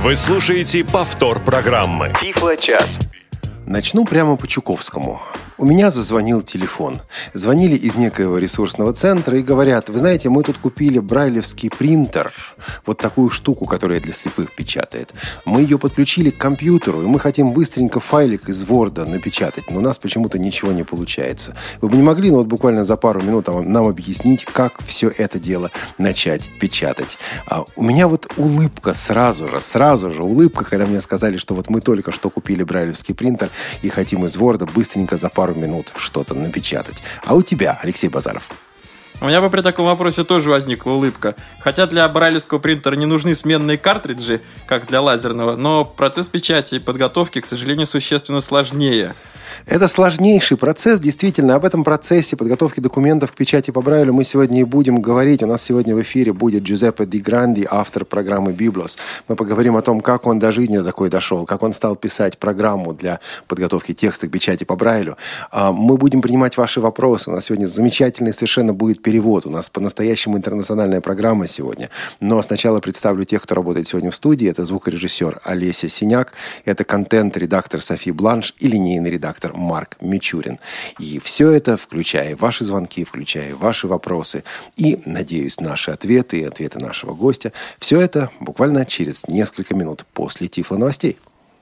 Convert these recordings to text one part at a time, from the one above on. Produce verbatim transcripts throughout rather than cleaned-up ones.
Вы слушаете повтор программы Тифло-час. Начну прямо по Чуковскому. У меня зазвонил телефон. Звонили из некоего ресурсного центра и говорят: вы знаете, мы тут купили брайлевский принтер, вот такую штуку, которая для слепых печатает. Мы ее подключили к компьютеру, и мы хотим быстренько файлик из Word напечатать, но у нас почему-то ничего не получается. Вы бы не могли, ну вот буквально за пару минут нам объяснить, как все это дело начать печатать? А у меня вот улыбка сразу же, сразу же улыбка, когда мне сказали, что вот мы только что купили брайлевский принтер и хотим из Word быстренько за пару минут что-то напечатать. А у тебя, Алексей Базаров? У меня бы при таком вопросе тоже возникла улыбка. Хотя для брайлевского принтера не нужны сменные картриджи, как для лазерного, но процесс печати и подготовки, к сожалению, существенно сложнее. Это сложнейший процесс, действительно. Об этом процессе подготовки документов к печати по Брайлю мы сегодня и будем говорить. У нас сегодня в эфире будет Джузеппе Ди Гранди, автор программы «Библос». Мы поговорим о том, как он до жизни такой дошел, как он стал писать программу для подготовки текста к печати по Брайлю. Мы будем принимать ваши вопросы. У нас сегодня замечательный совершенно будет перевод. У нас по-настоящему интернациональная программа сегодня. Но сначала представлю тех, кто работает сегодня в студии. Это звукорежиссер Олеся Синяк, это контент-редактор Софи Бланш и линейный редактор Марк Мичурин. И все это, включая ваши звонки, включая ваши вопросы и, надеюсь, наши ответы и ответы нашего гостя, все это буквально через несколько минут после Тифло-новостей.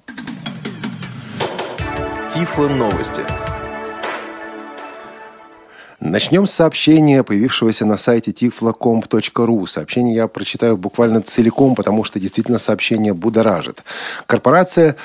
Тифло-новости. Начнем с сообщения, появившегося на сайте тифло комп точка ру. Сообщение я прочитаю буквально целиком, потому что действительно сообщение будоражит. Корпорация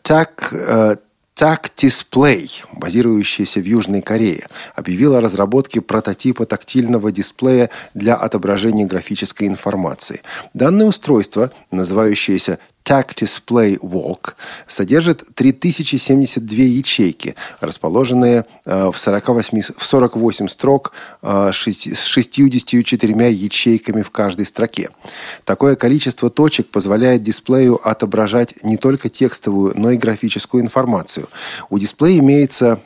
так... Tactisplay, базирующаяся в Южной Корее, объявила о разработке прототипа тактильного дисплея для отображения графической информации. Данное устройство, называющееся Tactisplay Walk, содержит три тысячи семьдесят две ячейки, расположенные в, сорок восемь, в сорок восемь строк с шестьюдесятью четырьмя ячейками в каждой строке. Такое количество точек позволяет дисплею отображать не только текстовую, но и графическую информацию. У дисплея имеется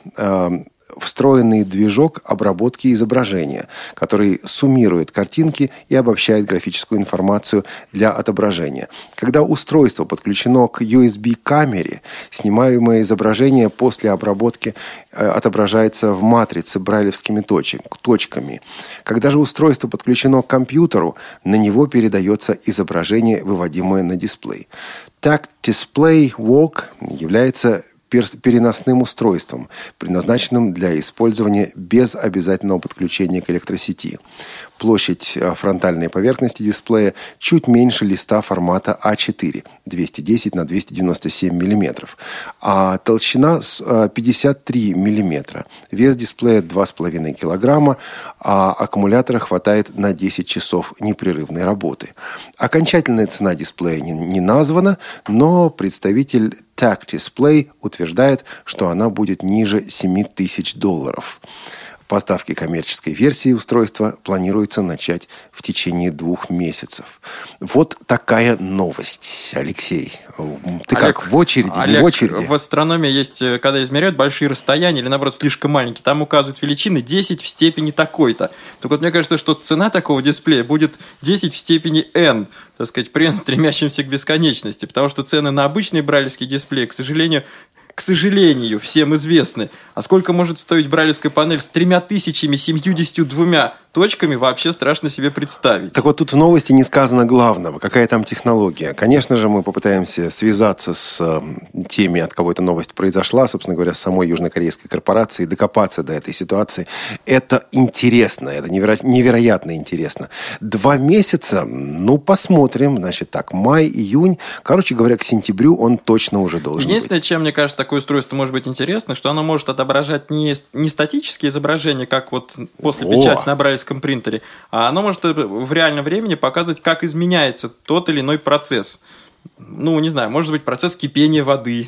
встроенный движок обработки изображения, который суммирует картинки и обобщает графическую информацию для отображения. Когда устройство подключено к ю эс би-камере, снимаемое изображение после обработки отображается в матрице брайлевскими точками. Когда же устройство подключено к компьютеру, на него передается изображение, выводимое на дисплей. Tactisplay Walk является переносным устройством, предназначенным для использования без обязательного подключения к электросети. Площадь фронтальной поверхности дисплея чуть меньше листа формата а четыре, двести десять на двести девяносто семь миллиметров, а толщина пятьдесят три миллиметра. Вес дисплея два с половиной килограмма, а аккумулятора хватает на десять часов непрерывной работы. Окончательная цена дисплея не, не названа, но представитель Tactisplay утверждает, что она будет ниже семь тысяч долларов. Поставки коммерческой версии устройства планируется начать в течение двух месяцев. Вот такая новость, Алексей. Ты Олег, как, в очереди, Олег, не в очереди? В астрономии есть, когда измеряют большие расстояния или, наоборот, слишком маленькие, там указывают величины десять в степени такой-то. Так вот, мне кажется, что цена такого дисплея будет десять в степени n, так сказать, при n, стремящемся к бесконечности, потому что цены на обычные брайлевские дисплеи, к сожалению, к сожалению, всем известны. А сколько может стоить брайлевская панель с тремя тысячами семьюдесятью двумя точками, вообще страшно себе представить. Так вот, тут в новости не сказано главного. Какая там технология? Конечно же, мы попытаемся связаться с э, теми, от кого эта новость произошла, собственно говоря, с самой южнокорейской корпорацией, докопаться до этой ситуации. Это интересно, это неверо- невероятно интересно. Два месяца, ну, посмотрим. Значит так, май, июнь. Короче говоря, к сентябрю он точно уже должен Единственное, быть. чем, мне кажется, такое устройство может быть интересно, что оно может отображать не, не статические изображения, как вот после О! печати на брайлевском принтере, а оно может в реальном времени показывать, как изменяется тот или иной процесс. Ну, не знаю, может быть, процесс кипения воды,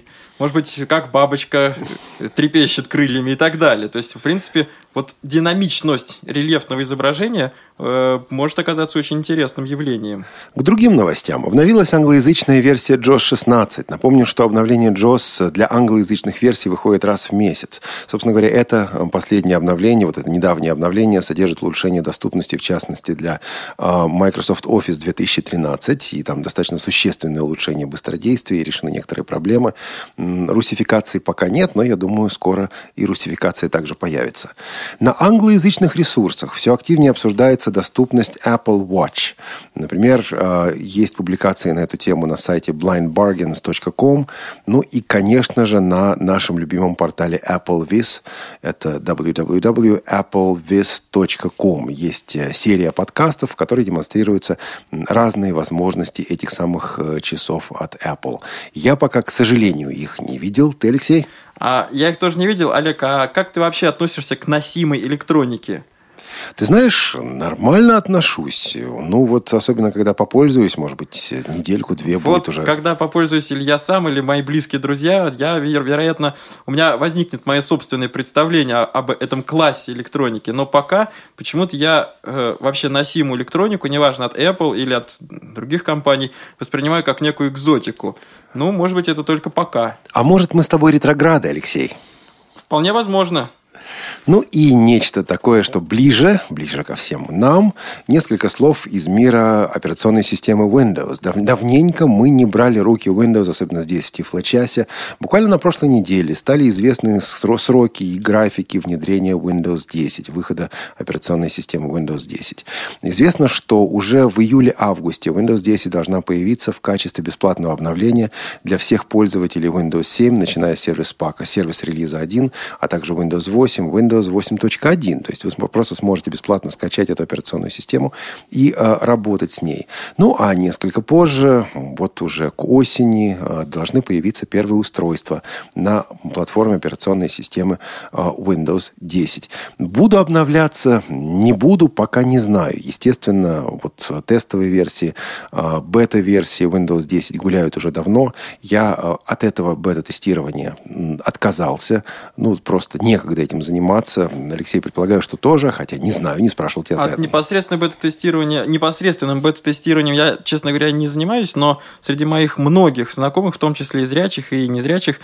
может быть, как бабочка трепещет крыльями и так далее. То есть, в принципе, вот динамичность рельефного изображения э, может оказаться очень интересным явлением. К другим новостям. Обновилась англоязычная версия джос шестнадцать. Напомню, что обновление джос для англоязычных версий выходит раз в месяц. Собственно говоря, это последнее обновление, вот это недавнее обновление содержит улучшение доступности, в частности, для э, Microsoft Office две тысячи тринадцать. И там достаточно существенное улучшение быстродействия, решены некоторые проблемы. Русификации пока нет, но я думаю, скоро и русификация также появится. На англоязычных ресурсах все активнее обсуждается доступность Apple Watch. Например, есть публикации на эту тему на сайте blind bargains точка com. Ну и, конечно же, на нашем любимом портале AppleVis. Это дабл ю дабл ю дабл ю точка apple viz точка com. Есть серия подкастов, в которой демонстрируются разные возможности этих самых часов от Apple. Я пока, к сожалению, их не видел. Ты, Алексей? А я их тоже не видел. Олег, а как ты вообще относишься к носимой электронике? Ты знаешь, нормально отношусь. Ну, вот особенно, когда попользуюсь, может быть, недельку-две вот будет уже. Когда попользуюсь или я сам, или мои близкие друзья, я, вероятно, у меня возникнет мое собственное представление об этом классе электроники. Но пока почему-то я э, вообще носимую электронику, неважно, от Apple или от других компаний, воспринимаю как некую экзотику. Ну, может быть, это только пока. А может, мы с тобой ретрограды, Алексей? Вполне возможно. Ну и нечто такое, что ближе, ближе ко всем нам, несколько слов из мира операционной системы Windows. Дав- давненько мы не брали руки Windows, особенно здесь, в Тифлочасе. Буквально на прошлой неделе стали известны сро- сроки и графики внедрения Windows десять, выхода операционной системы Windows десять. Известно, что уже в июле-августе Windows десять должна появиться в качестве бесплатного обновления для всех пользователей Windows семь, начиная с сервис-пака, сервис-релиза один, а также Windows восемь, Windows восемь точка один. То есть вы просто сможете бесплатно скачать эту операционную систему и э, работать с ней. Ну, а несколько позже, вот уже к осени, э, должны появиться первые устройства на платформе операционной системы э, Windows десять. Буду обновляться, не буду, пока не знаю. Естественно, вот тестовые версии, э, бета-версии Windows десять гуляют уже давно. Я э, от этого бета-тестирования отказался. Ну, просто некогда этим заниматься. Алексей, предполагаю, что тоже, хотя не знаю, не спрашивал тебя. От непосредственного бета-тестирования, непосредственным бета-тестированием я, честно говоря, не занимаюсь, но среди моих многих знакомых, в том числе и зрячих, и незрячих,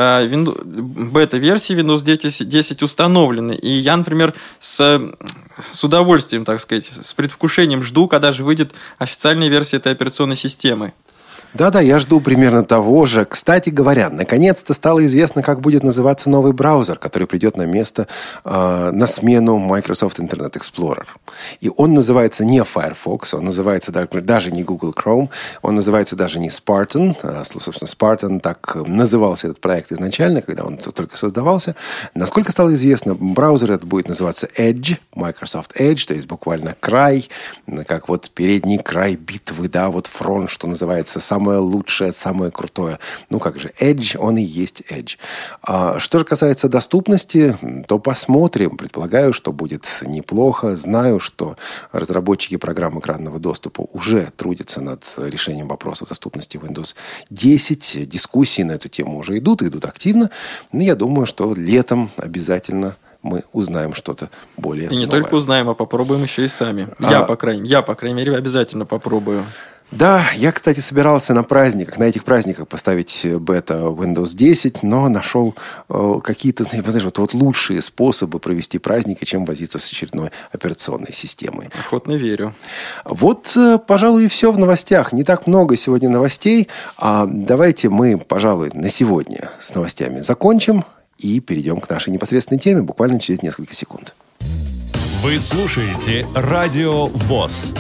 бета-версии Windows десять установлены. И я, например, с, с удовольствием, так сказать, с предвкушением жду, когда же выйдет официальная версия этой операционной системы. Да-да, я жду примерно того же. Кстати говоря, наконец-то стало известно, как будет называться новый браузер, который придет на место, э, на смену Microsoft Internet Explorer. И он называется не Firefox, он называется даже не Google Chrome, он называется даже не Spartan. А, собственно, Spartan так назывался этот проект изначально, когда он только создавался. Насколько стало известно, браузер этот будет называться Edge, Microsoft Edge, то есть буквально край, как вот передний край битвы, да, вот фронт, что называется, сам самое лучшее, самое крутое. Ну как же, Edge, он и есть Edge. А что же касается доступности, то посмотрим. Предполагаю, что будет неплохо. Знаю, что разработчики программ экранного доступа уже трудятся над решением вопроса доступности Windows десять. Дискуссии на эту тему уже идут, и идут активно. Но я думаю, что летом обязательно мы узнаем что-то более И не новое. только узнаем, а попробуем еще и сами. А... Я, по крайней, я, по крайней мере, обязательно попробую. Да, я, кстати, собирался на праздниках, на этих праздниках поставить бета Windows десять, но нашел э, какие-то, знаешь, вот, вот лучшие способы провести праздники, чем возиться с очередной операционной системой. Охотно верю. Вот, э, пожалуй, и все в новостях. Не так много сегодня новостей. А давайте мы, пожалуй, на сегодня с новостями закончим и перейдем к нашей непосредственной теме буквально через несколько секунд. Вы слушаете Радио ВОС.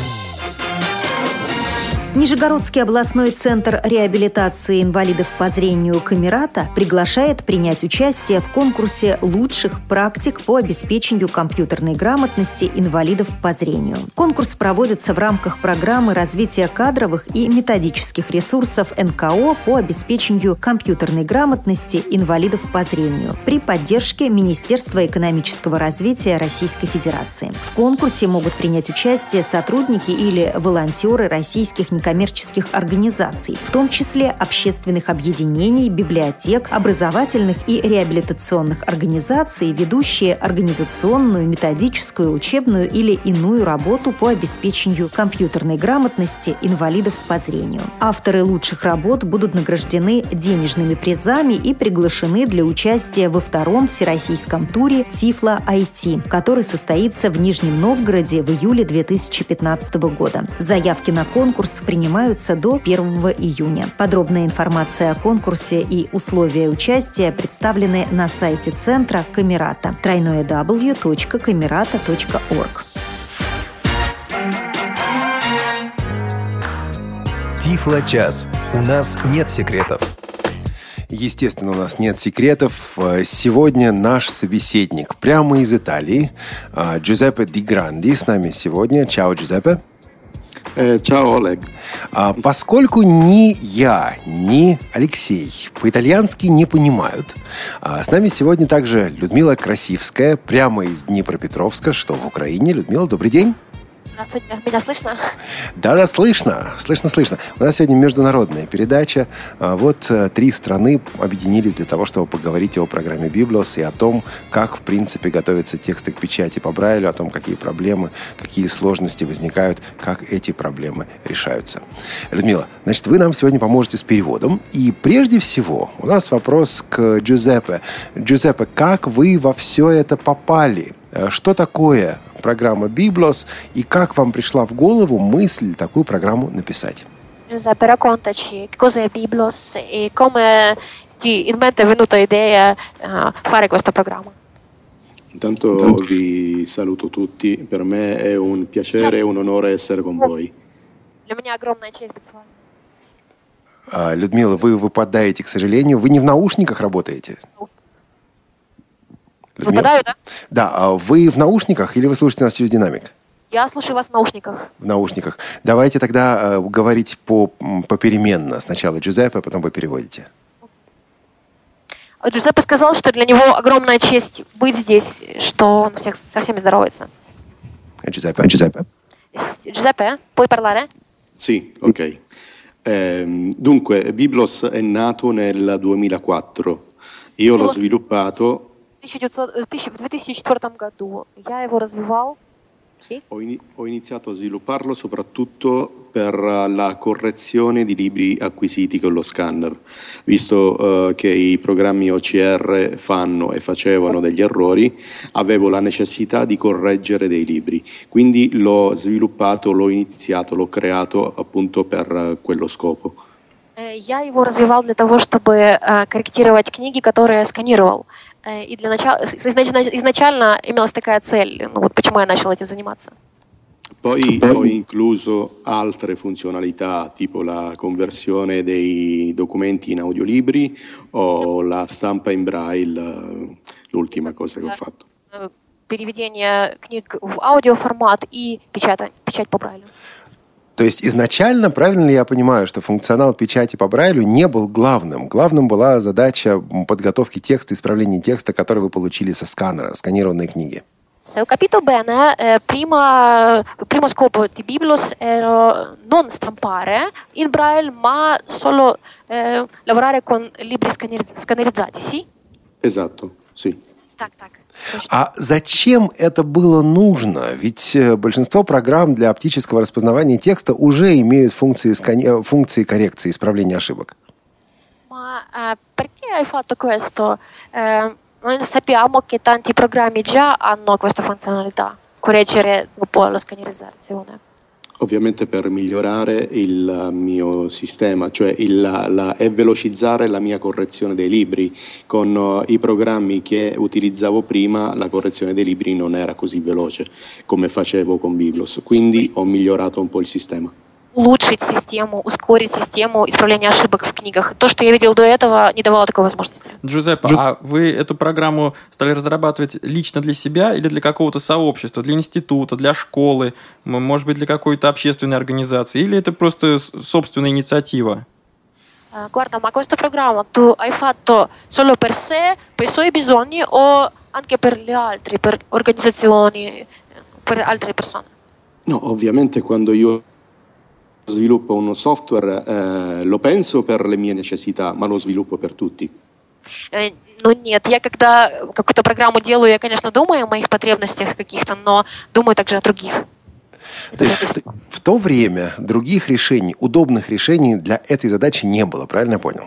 Нижегородский областной центр реабилитации инвалидов по зрению «Камерата» приглашает принять участие в конкурсе лучших практик по обеспечению компьютерной грамотности инвалидов по зрению. Конкурс проводится в рамках программы развития кадровых и методических ресурсов эн ка о по обеспечению компьютерной грамотности инвалидов по зрению при поддержке Министерства экономического развития Российской Федерации. В конкурсе могут принять участие сотрудники или волонтеры российских некоммерческих некоммерческих организаций, в том числе общественных объединений, библиотек, образовательных и реабилитационных организаций, ведущие организационную, методическую, учебную или иную работу по обеспечению компьютерной грамотности инвалидов по зрению. Авторы лучших работ будут награждены денежными призами и приглашены для участия во втором всероссийском туре Тифло ай ти, который состоится в Нижнем Новгороде в июле две тысячи пятнадцатого года. Заявки на конкурс принимаются до первого июня. Подробная информация о конкурсе и условия участия представлены на сайте центра Камерата дабл ю дабл ю дабл ю точка камерата точка орг. Тифло-час. У нас нет секретов. Естественно, у нас нет секретов. Сегодня наш собеседник прямо из Италии, Джузеппе Ди Гранди, с нами сегодня. Чао, Джузеппе. Э, чао, Олег. А, поскольку ни я, ни Алексей по-итальянски не понимают, а с нами сегодня также Людмила Красивская, прямо из Днепропетровска, что в Украине. Людмила, добрый день. Здравствуйте. Меня слышно? Да-да, слышно. Слышно, слышно. У нас сегодня международная передача. Вот три страны объединились для того, чтобы поговорить о программе Biblos и о том, как, в принципе, готовятся тексты к печати по Брайлю, о том, какие проблемы, какие сложности возникают, как эти проблемы решаются. Людмила, значит, вы нам сегодня поможете с переводом. И прежде всего у нас вопрос к Джузеппе. Джузеппе, как вы во все это попали? Что такое программа Biblos и как вам пришла в голову мысль такую программу написать? Giuseppe, raccontaci che cos'è Biblos e come ti in mente è venuta l'idea uh, fare questo programma. Intanto vi saluto tutti, per me è un piacere e un onore essere con voi. Для меня огромная честь быть с вами. А, Людмила, вы выпадаете, к сожалению. Вы не в наушниках работаете? Людмила? Выпадаю, да? Да, а вы в наушниках или вы слушаете нас через динамик? Я слушаю вас в наушниках. В наушниках. Давайте тогда э, говорить по, попеременно. Сначала Джузеппе, потом вы переводите. Джузеппе сказал, что для него огромная честь быть здесь, что он всех, со всеми здоровается. Джузеппе, Джузеппе. Giuseppe, puoi parlare? Sì, ok. Eh, dunque, Biblos è nato nel duemilaquattro. Io l'ho sviluppato... в две тысячи четвёртом году я его развивал. Sì? Ho, in, ho iniziato a svilupparlo soprattutto per la correzione di libri acquisiti con lo scanner, visto uh, che i programmi O C R fanno e facevano degli errori, avevo la necessità di correggere dei libri, quindi l'ho sviluppato, l'ho iniziato, l'ho creato appunto per uh, quello scopo. Я его развивал для того, чтобы uh, корректировать книги, которые я сканировал. И для начала, изначально имелась такая цель, ну вот почему я начал этим заниматься. Poi ho incluso altre funzionalità, tipo la conversione dei documenti in audiolibri o la stampa in braille, l'ultima cosa che ho fatto. Переведение книг в аудиоформат и печать, печать по Брайлю. То есть изначально, правильно ли я понимаю, что функционал печати по Брайлю не был главным? Главным была задача подготовки текста, исправления текста, который вы получили со сканера, сканированные книги. Se ho capito bene, eh, prima, il primo scopo di Biblos era non stampare in Braille, ma solo eh, lavorare con libri scaneriz- scannerizzati, sì? Esatto, sì. Так, так. А зачем это было нужно? Ведь большинство программ для оптического распознавания текста уже имеют функции, скани... функции коррекции, исправления ошибок. Ma eh, perché hai fatto questo? Eh, noi sappiamo che tanti programmi già hanno questa funzionalità, correggere dopo la scannerizzazione. Ovviamente per migliorare il mio sistema, cioè il, la, la, e velocizzare la mia correzione dei libri. Con uh, i programmi che utilizzavo prima la correzione dei libri non era così veloce come facevo con Biblos, quindi ho migliorato un po' il sistema. Улучшить систему, ускорить систему исправления ошибок в книгах. То, что я видел до этого, не давало такой возможности. Джузеппе, Джу... а вы эту программу стали разрабатывать лично для себя или для какого-то сообщества, для института, для школы, может быть, для какой-то общественной организации, или это просто собственная инициатива? Uh, guarda, ma questa programma tu hai fatto solo per sé, per i suoi bisogni o anche per gli altri, per organizzazioni, per altre persone? No, ovviamente quando io sviluppo un software eh, lo penso per le mie necessità, ma lo sviluppo per tutti. Э, Ну нет, я когда какую-то программу делаю, я, конечно, думаю о моих потребностях каких-то, но думаю также о других. То есть в то время других решений, удобных решений для этой задачи не было, правильно я понял?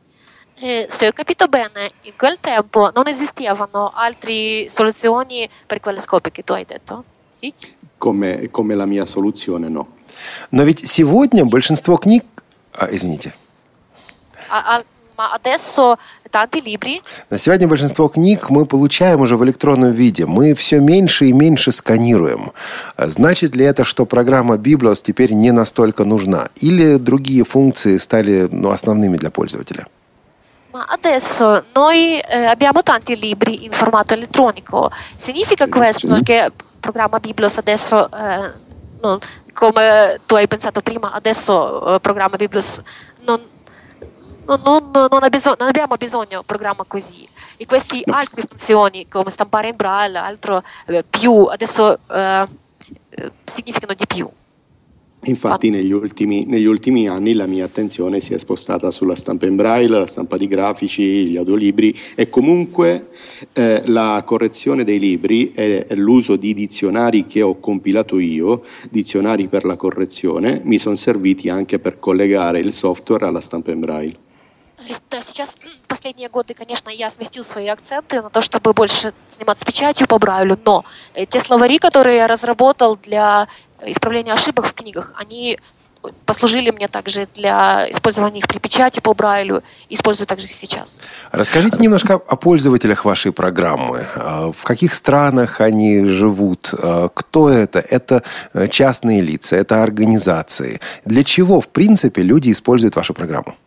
Eh, se ho capito bene, in quel tempo non esistevano altre soluzioni per quelle scopi che tu hai detto? Sì? Come, come la mia soluzione, no. Но ведь сегодня большинство книг... А, извините. А, а, ma adesso tanti libri... На сегодня большинство книг мы получаем уже в электронном виде. Мы все меньше и меньше сканируем. Значит ли это, что программа Biblos теперь не настолько нужна? Или другие функции стали ну, основными для пользователя? Ma adesso noi eh, abbiamo tanti libri in formato elettronico. Significa questo che il programma Biblos adesso, eh, non, come tu hai pensato prima, adesso il eh, programma Biblos non, non, non, non, ha bisog- non abbiamo bisogno di un programma così. E queste no. altre funzioni come stampare in braille, altro eh, più, adesso eh, eh, significano di più. Infatti negli ultimi, negli ultimi anni la mia attenzione si è spostata sulla stampa in braille, la stampa di grafici, gli audiolibri e comunque eh, la correzione dei libri e l'uso di dizionari che ho compilato io, dizionari per la correzione, mi sono serviti anche per collegare il software alla stampa in braille. Да, сейчас в последние годы, конечно, я сместил свои акценты на то, чтобы больше заниматься печатью по Брайлю, но те словари, которые я разработал для исправления ошибок в книгах, они послужили мне также для использования их при печати по Брайлю, использую также их сейчас. Расскажите немножко о пользователях вашей программы. В каких странах они живут? Кто это? Это частные лица, это организации. Для чего, в принципе, люди используют вашу программу?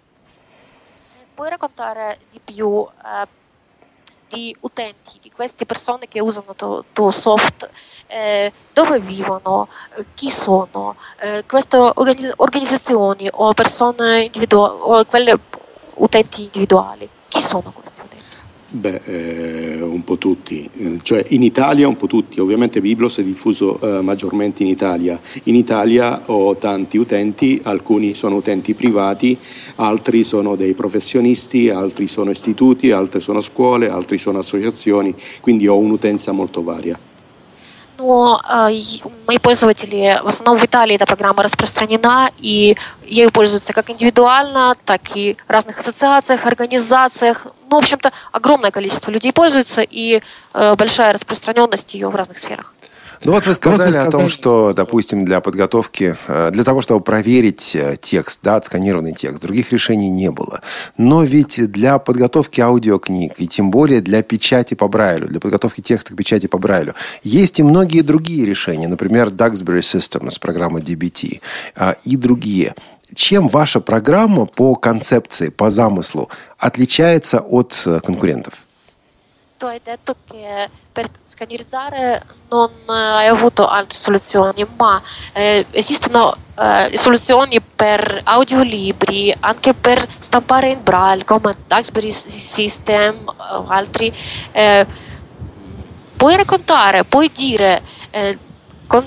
Puoi raccontare di più eh, di utenti, di queste persone che usano tuo, tuo soft, eh, dove vivono, eh, chi sono, eh, queste organizz- organizzazioni o persone individuali, o quelle utenti individuali, chi sono questi utenti? Beh, eh, un po' tutti, eh, cioè in Italia un po' tutti, ovviamente Biblos è diffuso eh, maggiormente in Italia. In Italia ho tanti utenti, alcuni sono utenti privati, altri sono dei professionisti, altri sono istituti, altri sono scuole, altri sono associazioni, quindi ho un'utenza molto varia. Но э, мои пользователи, в основном в Италии эта программа распространена, и ею пользуются как индивидуально, так и в разных ассоциациях, организациях. Ну, в общем-то, огромное количество людей пользуется, и э, большая распространенность ее в разных сферах. Ну вот вы сказали о том, что, допустим, для подготовки, для того, чтобы проверить текст, да, отсканированный текст, других решений не было. Но ведь для подготовки аудиокниг, и тем более для печати по Брайлю, для подготовки текста к печати по Брайлю, есть и многие другие решения, например, Duxbury Systems, программа ди би ти, и другие. Чем ваша программа по концепции, по замыслу отличается от конкурентов? Tu hai detto che per scannerizzare non hai avuto altre soluzioni, ma eh, esistono eh, soluzioni per audiolibri, anche per stampare in braille, come Duxbury System o altri. Eh, puoi raccontare, puoi dire eh, con,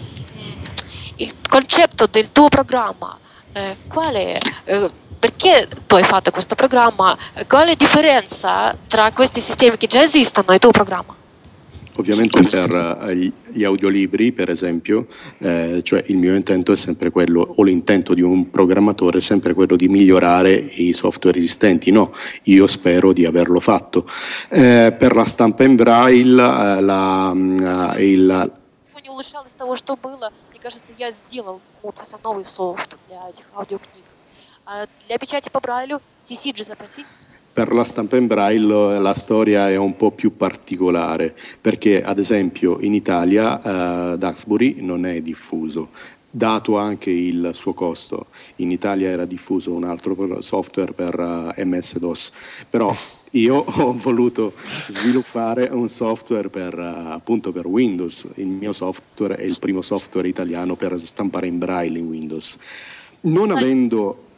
il concetto del tuo programma, eh, qual è? Eh, Perché tu hai fatto questo programma? Qual è la differenza tra questi sistemi che già esistono e il tuo programma? Ovviamente per uh, gli audiolibri, per esempio, eh, cioè il mio intento è sempre quello, o l'intento di un programmatore è sempre quello di migliorare i software esistenti. No, io spero di averlo fatto. Eh, per la stampa in braille, uh, la, uh, il... Не улучшал из того, что было. Мне кажется, я сделал вот совсем новый софт для этих аудиокниг. А для печати по Брайлю си си джи запроси. Per la stampa in braille la storia è un po' più particolare, perché ad esempio in Italia uh, Duxbury non è diffuso, dato anche il suo costo. In Italia era diffuso un altro software per uh, emme esse DOS, però io ho voluto sviluppare un software per, uh, appunto per Windows. Il mio software è il primo software italiano per stampare in braille in Windows. Non avendo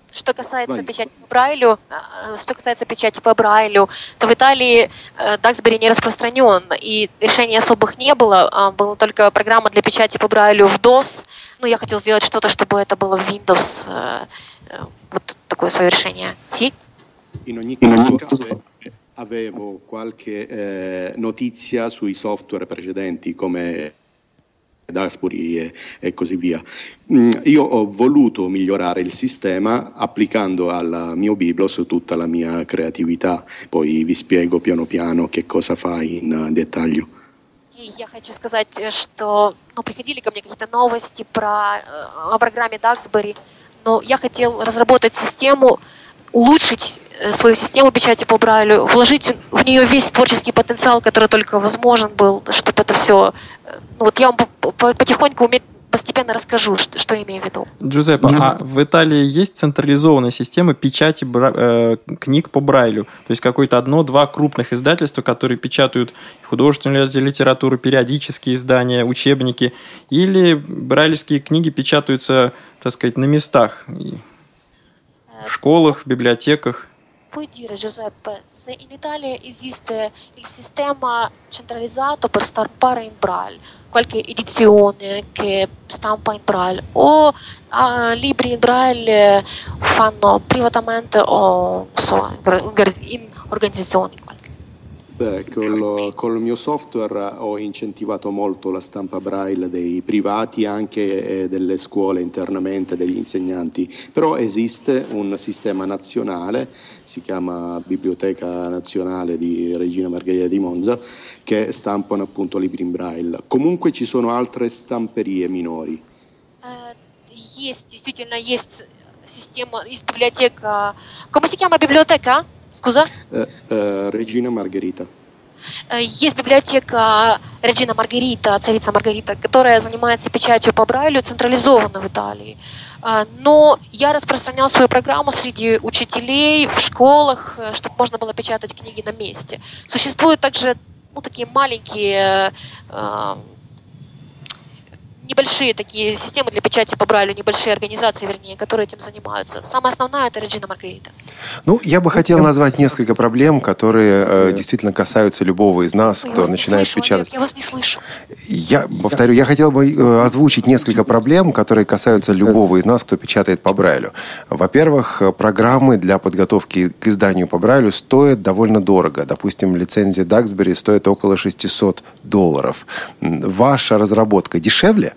Что касается печати по Брайлю, что касается печати по Брайлю, то в Италии Даксбери не распространен, и решений особых не было, была только программа для печати по Брайлю в дос. Ну, я хотел сделать что-то, чтобы это было в Windows. Вот такое свое решение. Sì? In ogni caso avevo qualche eh, notizia sui software precedenti come Duxbury e, e così via. Mm, io ho voluto migliorare il sistema applicando al mio Biblos tutta la mia creatività, poi vi spiego piano piano che cosa fa in uh, dettaglio. И я хочу сказать, что ну, приходили ко мне какие-то новости про, о программе Duxbury, но я хотел разработать систему, улучшить свою систему печати по Брайлю, вложить в нее весь творческий потенциал, который только возможен был, чтобы это все... Ну, вот я вам потихоньку, постепенно расскажу, что, что я имею в виду. Джузеппе, а в Италии есть централизованная система печати бра... э, книг по Брайлю? То есть какое-то одно-два крупных издательства, которые печатают художественную литературу, периодические издания, учебники, или брайлевские книги печатаются, так сказать, на местах? В школах, в библиотеках. Puoi dire, Giuseppe, se in Italia esiste il sistema centralizzato per stampare in Braille, qualche edizione che stampa in Braille, o uh, libri in Braille fanno privatamente o so, in organizzazioni qualche? Beh, col, col mio software ho incentivato molto la stampa Braille dei privati, anche delle scuole internamente, degli insegnanti, però esiste un sistema nazionale, si chiama Biblioteca Nazionale di Regina Margherita di Monza, che stampano appunto libri in Braille. Comunque ci sono altre stamperie minori. Uh, есть, действительно, есть система, есть библиотека. Come si chiama biblioteca? Scusa? Uh, uh, Regina Margherita. Есть библиотека Regina Margherita, царица Маргарита, которая занимается печатью по Брайлю, централизованно в Италии. Но я распространял свою программу среди учителей в школах, чтобы можно было печатать книги на месте. Существуют также ну, такие маленькие, небольшие такие системы для печати по Брайлю, небольшие организации, вернее, которые этим занимаются. Самая основная — это Regina Margherita. Ну, я бы хотел назвать несколько проблем, которые э, действительно касаются любого из нас, кто начинает слышу, печатать. Олег, я вас не слышу. Я повторю, я хотел бы э, озвучить несколько проблем, которые касаются любого из нас, кто печатает по Брайлю. Во-первых, программы для подготовки к изданию по Брайлю стоят довольно дорого. Допустим, лицензия Duxbury стоит около шестьсот долларов. Ваша разработка дешевле?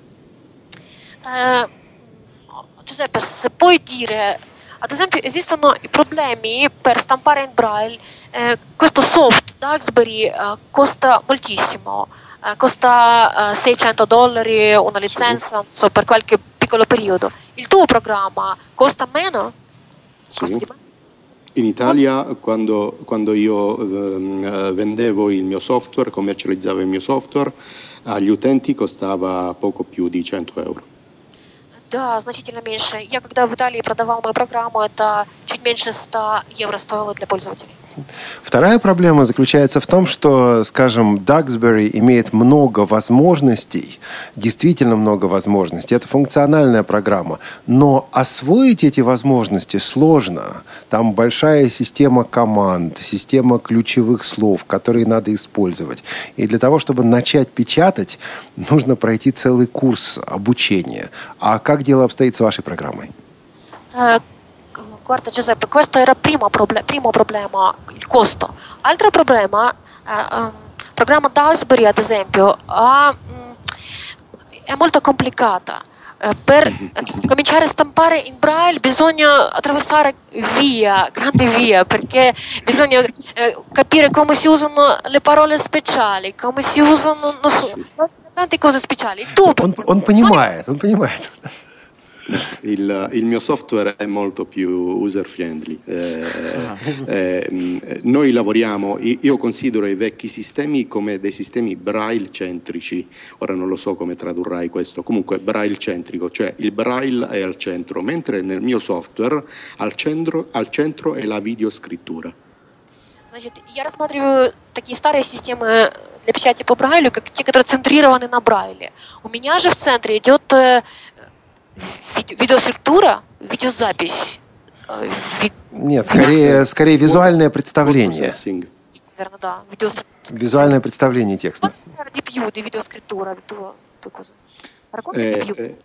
Uh, Giuseppe, se puoi dire, ad esempio, esistono i problemi per stampare in Braille, eh, questo soft Duxbury uh, costa moltissimo, uh, costa uh, seicento dollari una licenza, non so, per qualche piccolo periodo. Il tuo programma costa meno? Sì. Costa di meno? In Italia, quando, quando io ehm, vendevo il mio software, commercializzavo il mio software, agli utenti costava poco più di cento euro. Да, значительно меньше. Я когда в Италии продавал мою программу, это чуть меньше ста евро стоило для пользователей. Вторая проблема заключается в том, что, скажем, Duxbury имеет много возможностей, действительно много возможностей. Это функциональная программа. Но освоить эти возможности сложно. Там большая система команд, система ключевых слов, которые надо использовать. И для того, чтобы начать печатать, нужно пройти целый курс обучения. А как дело обстоит с вашей программой? Guarda Giuseppe, questo era primo, proble- primo problema, il costo. Altro problema, eh, um, il programma Duxbury ad esempio ha, mh, è molto complicata. Eh, per eh, cominciare a stampare in Braille bisogna attraversare via, grandi via, perché bisogna eh, capire come si usano le parole speciali, come si usano, non so, tante cose speciali. Tu, Он, он понимает, он понимает. Il, il mio software è molto più user friendly. Eh, eh, noi lavoriamo, io considero i vecchi sistemi come dei sistemi braille centrici. Ora non lo so come tradurrai questo, comunque braille centrico, cioè il braille è al centro, mentre nel mio software al centro, al centro è la videoscrittura. Значит, я рассматриваю такие старые системы для печати по Брайлю, как те, которые центрированы на Брайле. У меня же в центре идет видеоструктура, видеозапись. Нет, скорее, скорее визуальное представление. Верно, да. Visuale представление testa. Di più di videoscrittura, tu, tu cosa? Raccontami di più.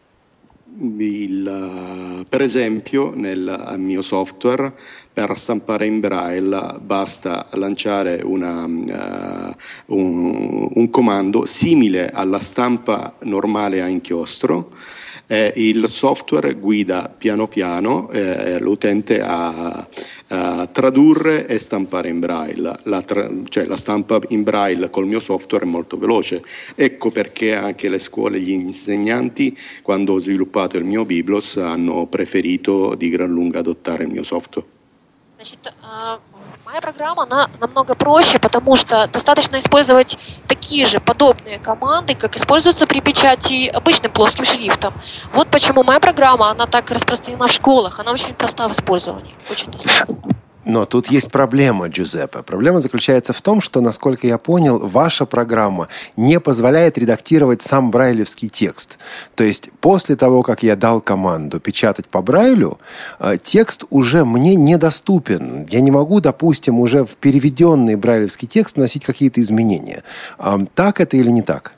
Il, per esempio, nel mio software, per stampare in braille basta lanciare una, uh, un, un comando simile alla stampa normale a inchiostro. Eh, il software guida piano piano eh, l'utente a, a tradurre e stampare in braille. La, tra- cioè, la stampa in braille col mio software è molto veloce. Ecco perché anche le scuole, gli insegnanti, quando ho sviluppato il mio Biblos, hanno preferito di gran lunga adottare il mio software. Значит, моя программа, она намного проще, потому что достаточно использовать такие же подобные команды, как используются при печати обычным плоским шрифтом. Вот почему моя программа, она так распространена в школах, она очень проста в использовании, очень доступна. Но тут есть проблема, Джузеппе. Проблема заключается в том, что, насколько я понял, ваша программа не позволяет редактировать сам брайлевский текст. То есть после того, как я дал команду печатать по брайлю, текст уже мне недоступен. Я не могу, допустим, уже в переведенный брайлевский текст вносить какие-то изменения. Так это или не так?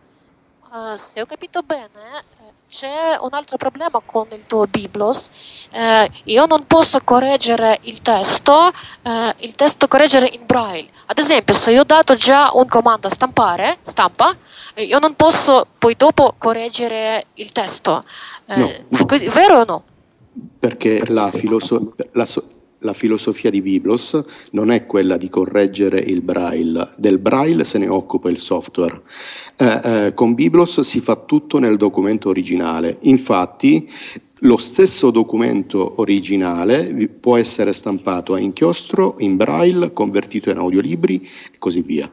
Se ho capito bene, c'è un'altra problema con il tuo Biblos. Eh, io non posso correggere il testo, eh, il testo correggere in braille. Ad esempio, se io ho dato già un comando stampare, stampa, eh, io non posso poi dopo correggere il testo. Eh, no, no. Così, vero o no? Perché la, filoso- la, so- la filosofia di Biblos non è quella di correggere il braille. Del braille se ne occupa il software. Eh, eh, con Biblos si fa tutto nel documento originale. Infatti, lo stesso documento originale può essere stampato a inchiostro, in braille, convertito in audiolibri e così via.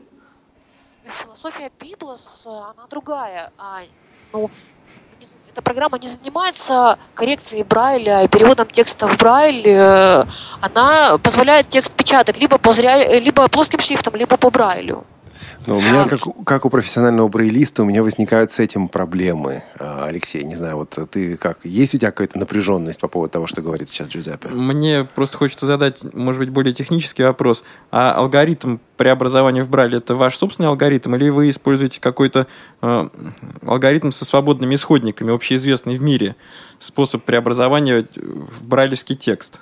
Философия Biblos, она другая. Ну, эта программа не занимается коррекцией Брайля и переводом текста в Брайль. Она позволяет текст печатать либо, по зря... либо плоским шрифтом, либо по Брайлю. Но у меня, как, как у профессионального брейлиста, у меня возникают с этим проблемы. Алексей, не знаю, вот ты как? Есть у тебя какая-то напряженность по поводу того, что говорит сейчас Джузеппе? Мне просто хочется задать, может быть, более технический вопрос. А алгоритм преобразования в Брайле — это ваш собственный алгоритм, или вы используете какой-то э, алгоритм со свободными исходниками, общеизвестный в мире, способ преобразования в брайлевский текст?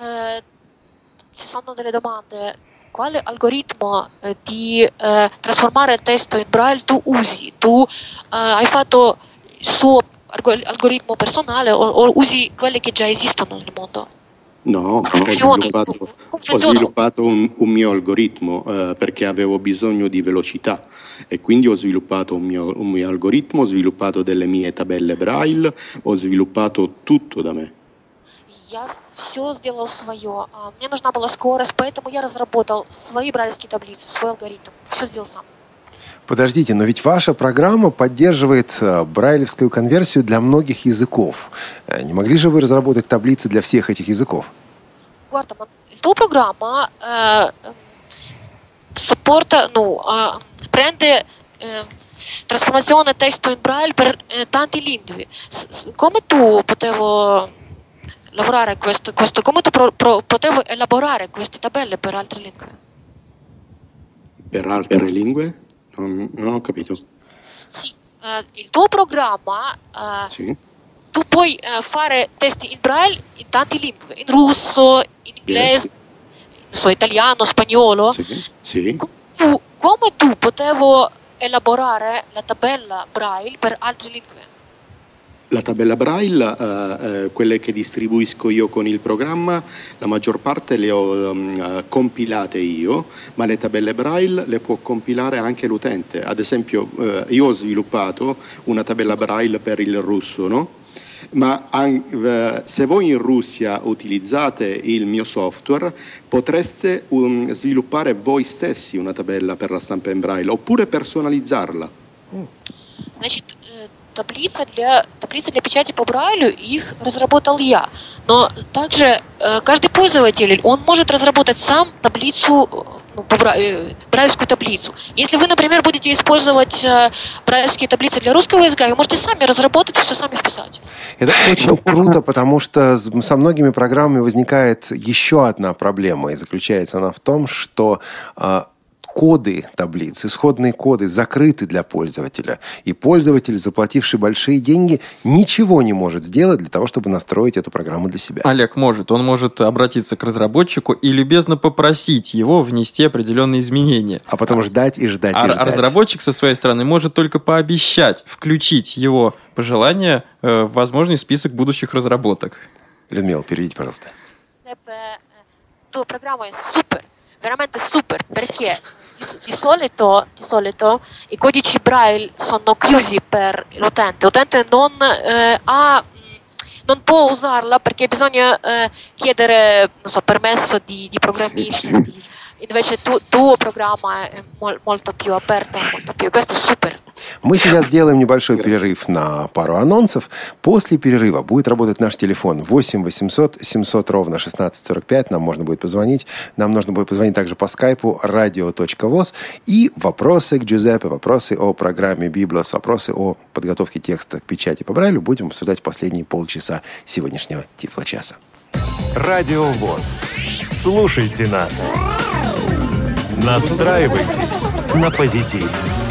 Ci sono delle domande. Quale algoritmo eh, di eh, trasformare il testo in braille tu usi? Tu eh, hai fatto il suo algoritmo personale o, o usi quelli che già esistono nel mondo? No, ho sviluppato, ho sviluppato un, un mio algoritmo eh, perché avevo bisogno di velocità e quindi ho sviluppato un mio, un mio algoritmo, ho sviluppato delle mie tabelle braille, ho sviluppato tutto da me. Я все сделал свое. Мне нужна была скорость, поэтому я разработал свои брайлевские таблицы, свой алгоритм. Все сделал сам. Подождите, но ведь ваша программа поддерживает брайлевскую конверсию для многих языков. Не могли же вы разработать таблицы для всех этих языков? Guarda, ma il tuo programma eh, supporta, no, eh, prende eh, trasformazione testo in braille per eh, tanti lingue. S- come tu potevo lavorare questo, questo come tu pro, pro, potevo elaborare queste tabelle per altre lingue? Per altre lingue? Non, non ho capito. Sì, uh, il tuo programma uh, sì. Tu puoi uh, fare testi in braille in tante lingue, in russo, in inglese, yes. so, italiano, spagnolo. Sì, sì. Tu, come tu potevo elaborare la tabella braille per altre lingue? La tabella braille, eh, eh, quelle che distribuisco io con il programma, la maggior parte le ho um, compilate io, ma le tabelle braille le può compilare anche l'utente. Ad esempio, eh, io ho sviluppato una tabella braille per il russo, no? Ma an- eh, se voi in Russia utilizzate il mio software, potreste um, sviluppare voi stessi una tabella per la stampa in braille, oppure personalizzarla. Значит, Таблица для, таблица для печати по Брайлю, их разработал я. Но также э, каждый пользователь, он может разработать сам таблицу ну, брайлевскую таблицу. Если вы, например, будете использовать брайлевские таблицы для русского языка, вы можете сами разработать и все сами вписать. Это очень круто, потому что со многими программами возникает еще одна проблема, и заключается она в том, что коды таблиц, исходные коды закрыты для пользователя. И пользователь, заплативший большие деньги, ничего не может сделать для того, чтобы настроить эту программу для себя. Олег может. Он может обратиться к разработчику и любезно попросить его внести определенные изменения. А потом ждать и ждать а, и ждать. А разработчик со своей стороны может только пообещать включить его пожелания в возможный список будущих разработок. Людмила, переведите, пожалуйста. Tua programma è super, veramente super, perché di solito, di solito i codici Braille sono chiusi per l'utente. L'utente non, eh, ha, non può usarla perché bisogna eh, chiedere, non so, permesso di, di programmisti. Invece tu, tuo programma è mol, molto più aperto, molto più. Questo è super. Мы сейчас сделаем небольшой перерыв на пару анонсов. После перерыва будет работать наш телефон восемь восемьсот семьсот ровно шестнадцать сорок пять. Нам можно будет позвонить. Нам нужно будет позвонить также по скайпу радио точка воз. И вопросы к Джузеппе, вопросы о программе Библос, вопросы о подготовке текста к печати по Брайлю будем обсуждать в последние полчаса сегодняшнего Тифлочаса. Радио ВОС. Слушайте нас. Настраивайтесь на позитив.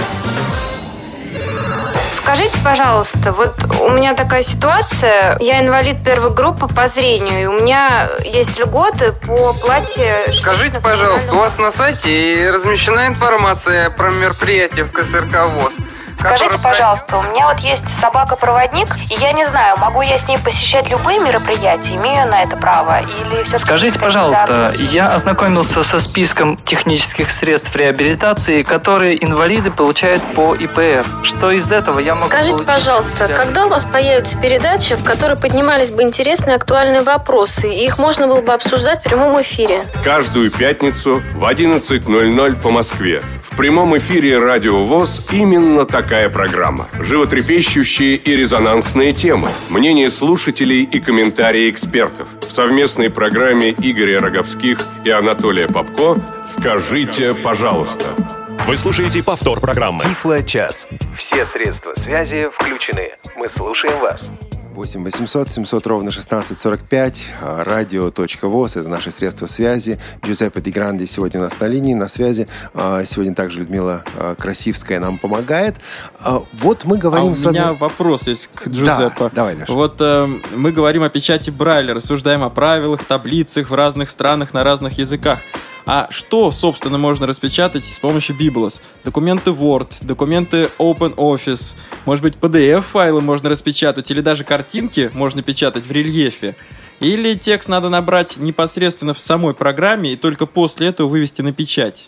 Скажите, пожалуйста, вот у меня такая ситуация, я инвалид первой группы по зрению, и у меня есть льготы по оплате... Скажите, пожалуйста, у вас на сайте размещена информация про мероприятие в ка эс эр ка ВОС? Скажите, пожалуйста, у меня вот есть собака-проводник, и я не знаю, могу я с ней посещать любые мероприятия, имею на это право, или все-таки... Скажите, пожалуйста, я ознакомился со списком технических средств реабилитации, которые инвалиды получают по и пэ эф. Что из этого я могу Скажите, получить? пожалуйста, когда у вас появится передача, в которой поднимались бы интересные актуальные вопросы, и их можно было бы обсуждать в прямом эфире? Каждую пятницу в одиннадцать ноль ноль по Москве. В прямом эфире Радио ВОС именно такая программа. Животрепещущие и резонансные темы, мнения слушателей и комментарии экспертов. В совместной программе Игоря Роговских и Анатолия Попко «Скажите, пожалуйста». Вы слушаете повтор программы. Тифлочас. Все средства связи включены. Мы слушаем вас. восемь восемьсот семьсот ровно шестнадцать сорок пять. радио точка воз. Это наши средства связи. Джузеппе Ди Гранди сегодня у нас на линии, на связи. Сегодня также Людмила Красивская нам помогает. Вот мы говорим а с вами... у меня вопрос есть к Джузеппе. Да, давай, Леша. Вот э, мы говорим о печати Брайля, рассуждаем о правилах, таблицах в разных странах на разных языках. А что, собственно, можно распечатать с помощью Biblos? Документы Word, документы OpenOffice, может быть, пи ди эф-файлы можно распечатать, или даже картинки можно печатать в рельефе? Или текст надо набрать непосредственно в самой программе и только после этого вывести на печать?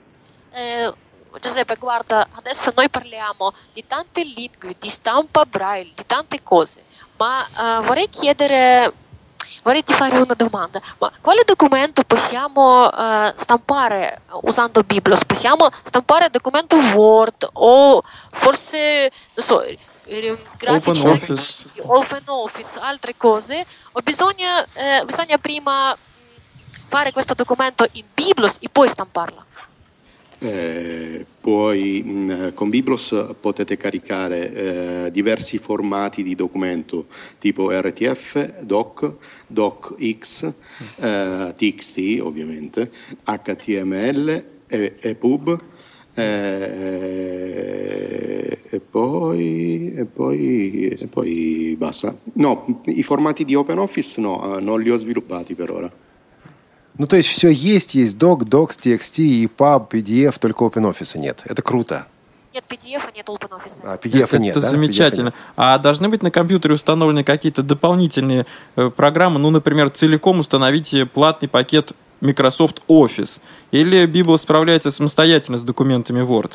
Giuseppe, guarda, adesso noi parliamo di tante lingue, di stampa Braille, di tante cose, ma uh, vorrei chiedere... Vorrei ti fare una domanda, ma quale documento possiamo uh, stampare usando Biblos? Possiamo stampare documento Word o forse, non so, grafici, OpenOffice, OpenOffice, altre cose? O bisogna, eh, bisogna prima fare questo documento in Biblos e poi stamparlo? Eh, poi mh, con Biblos potete caricare eh, diversi formati di documento tipo erre ti effe, doc, docx, eh, ti x T ovviamente, acca ti emme elle, e, epub eh, e, poi, e, poi, e poi basta. No, i formati di OpenOffice no, non li ho sviluppati per ora. Ну, то есть все есть, есть doc, docs, ти экс ти, и паб, пи ди эф, только OpenOffice нет. Это круто. Нет пи ди эф, нет OpenOffice. А, пи ди эф это нет, Это да? замечательно. А должны быть на компьютере установлены какие-то дополнительные э, программы? Ну, например, целиком установите платный пакет Microsoft Office. Или Biblos справляется самостоятельно с документами Word?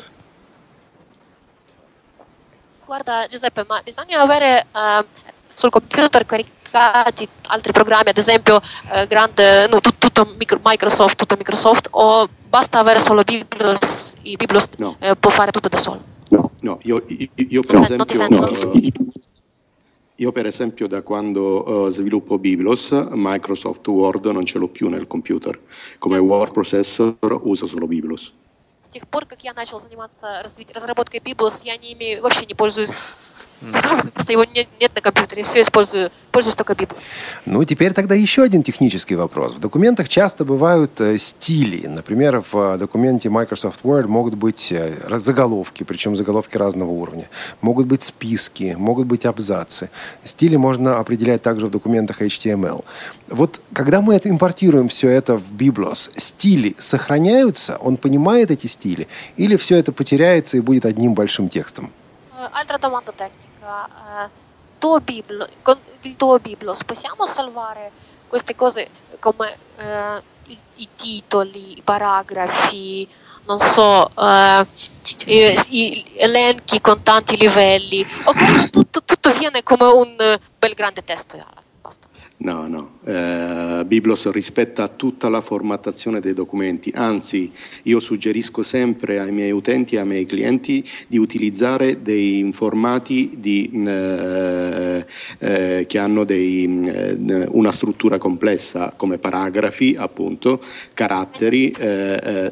Guarda, Giuseppe, ma bisogna avere uh, sul computer caricati altri programmi, ad esempio uh, grande, no, tut, tutto Microsoft, tutto Microsoft, o basta avere solo Biblos e Biblos no. eh, può fare tutto da solo? No, no, io, io, io per non esempio... Non ti no, Io per esempio da quando uh, sviluppo Biblos, Microsoft Word non ce l'ho più nel computer. Come word processor uso solo Biblos. С тех пор, как я начал заниматься разработкой Biblos, я не имею, вообще не пользуюсь цифровым, просто его нет, нет на компьютере, все использую, пользуюсь только Biblos. Ну, теперь тогда еще один технический вопрос. В документах часто бывают э, стили. Например, в э, документе Microsoft Word могут быть э, заголовки, причем заголовки разного уровня. Могут быть списки, могут быть абзацы. Стили можно определять также в документах эйч ти эм эл. Вот когда мы это импортируем все это в Biblos, стили сохраняются? Он poнимает эти стили? Или все это потеряется и будет одним большим текстом? Altra domanda tecnica. Uh, tuo Biblo, con il tuo Biblos possiamo salvare queste cose come uh, i, i titoli, i paragrafi, non so, uh, i, i elenchi con tanti livelli? O questo tutto, tutto viene come un bel grande testo? Basta. No, no. Eh, Biblos rispetta tutta la formattazione dei documenti, anzi io suggerisco sempre ai miei utenti e ai miei clienti di utilizzare dei formati di, eh, eh, che hanno dei, eh, una struttura complessa come paragrafi, appunto, caratteri. Eh, eh.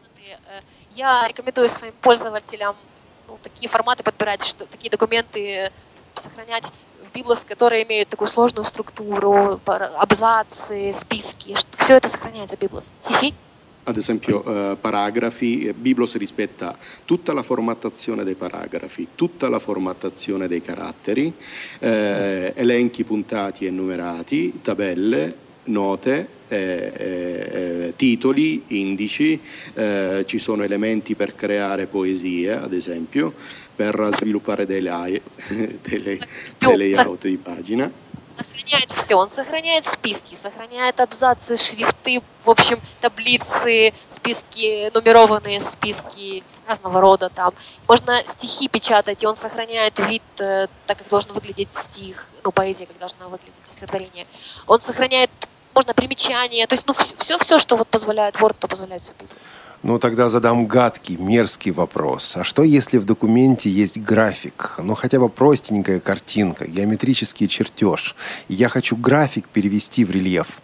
Я рекомендую своим пользователям ну, такие форматы подбирать, что такие документы сохранять в Biblos, которые имеют такую сложную структуру, абзацы, списки, все это сохраняется в Biblos. Sì, sì? Ad esempio eh, paragrafi, Biblos rispetta tutta la formattazione dei paragrafi, tutta la formattazione dei caratteri, eh, elenchi puntati e numerati, tabelle, note, eh, eh, titoli, indici, eh, ci sono elementi per creare poesie, ad esempio, per sviluppare dei, lay- dei, dei layout di pagina. Сохраняет все. Он сохраняет списки, сохраняет абзацы, шрифты, в общем, таблицы, списки, нумерованные списки разного рода там. Можно стихи печатать, и он сохраняет вид, так как должен выглядеть стих, ну, поэзия, как должна выглядеть стихотворение. Он сохраняет, можно примечания, то есть, ну, все-все, что вот позволяет Word, то позволяет все Biblos. Ну, тогда задам гадкий, мерзкий вопрос. А что, если в документе есть график? Ну, хотя бы простенькая картинка, геометрический чертеж. И я хочу график перевести в рельеф.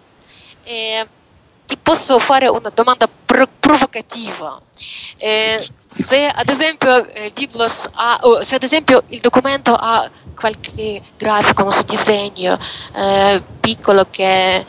Eh, ti posso fare una domanda pro- provocativa. Eh, se ad esempio eh, Biblos ha, oh, se ad esempio il documento ha qualche grafico, non so, disegno eh, piccolo che,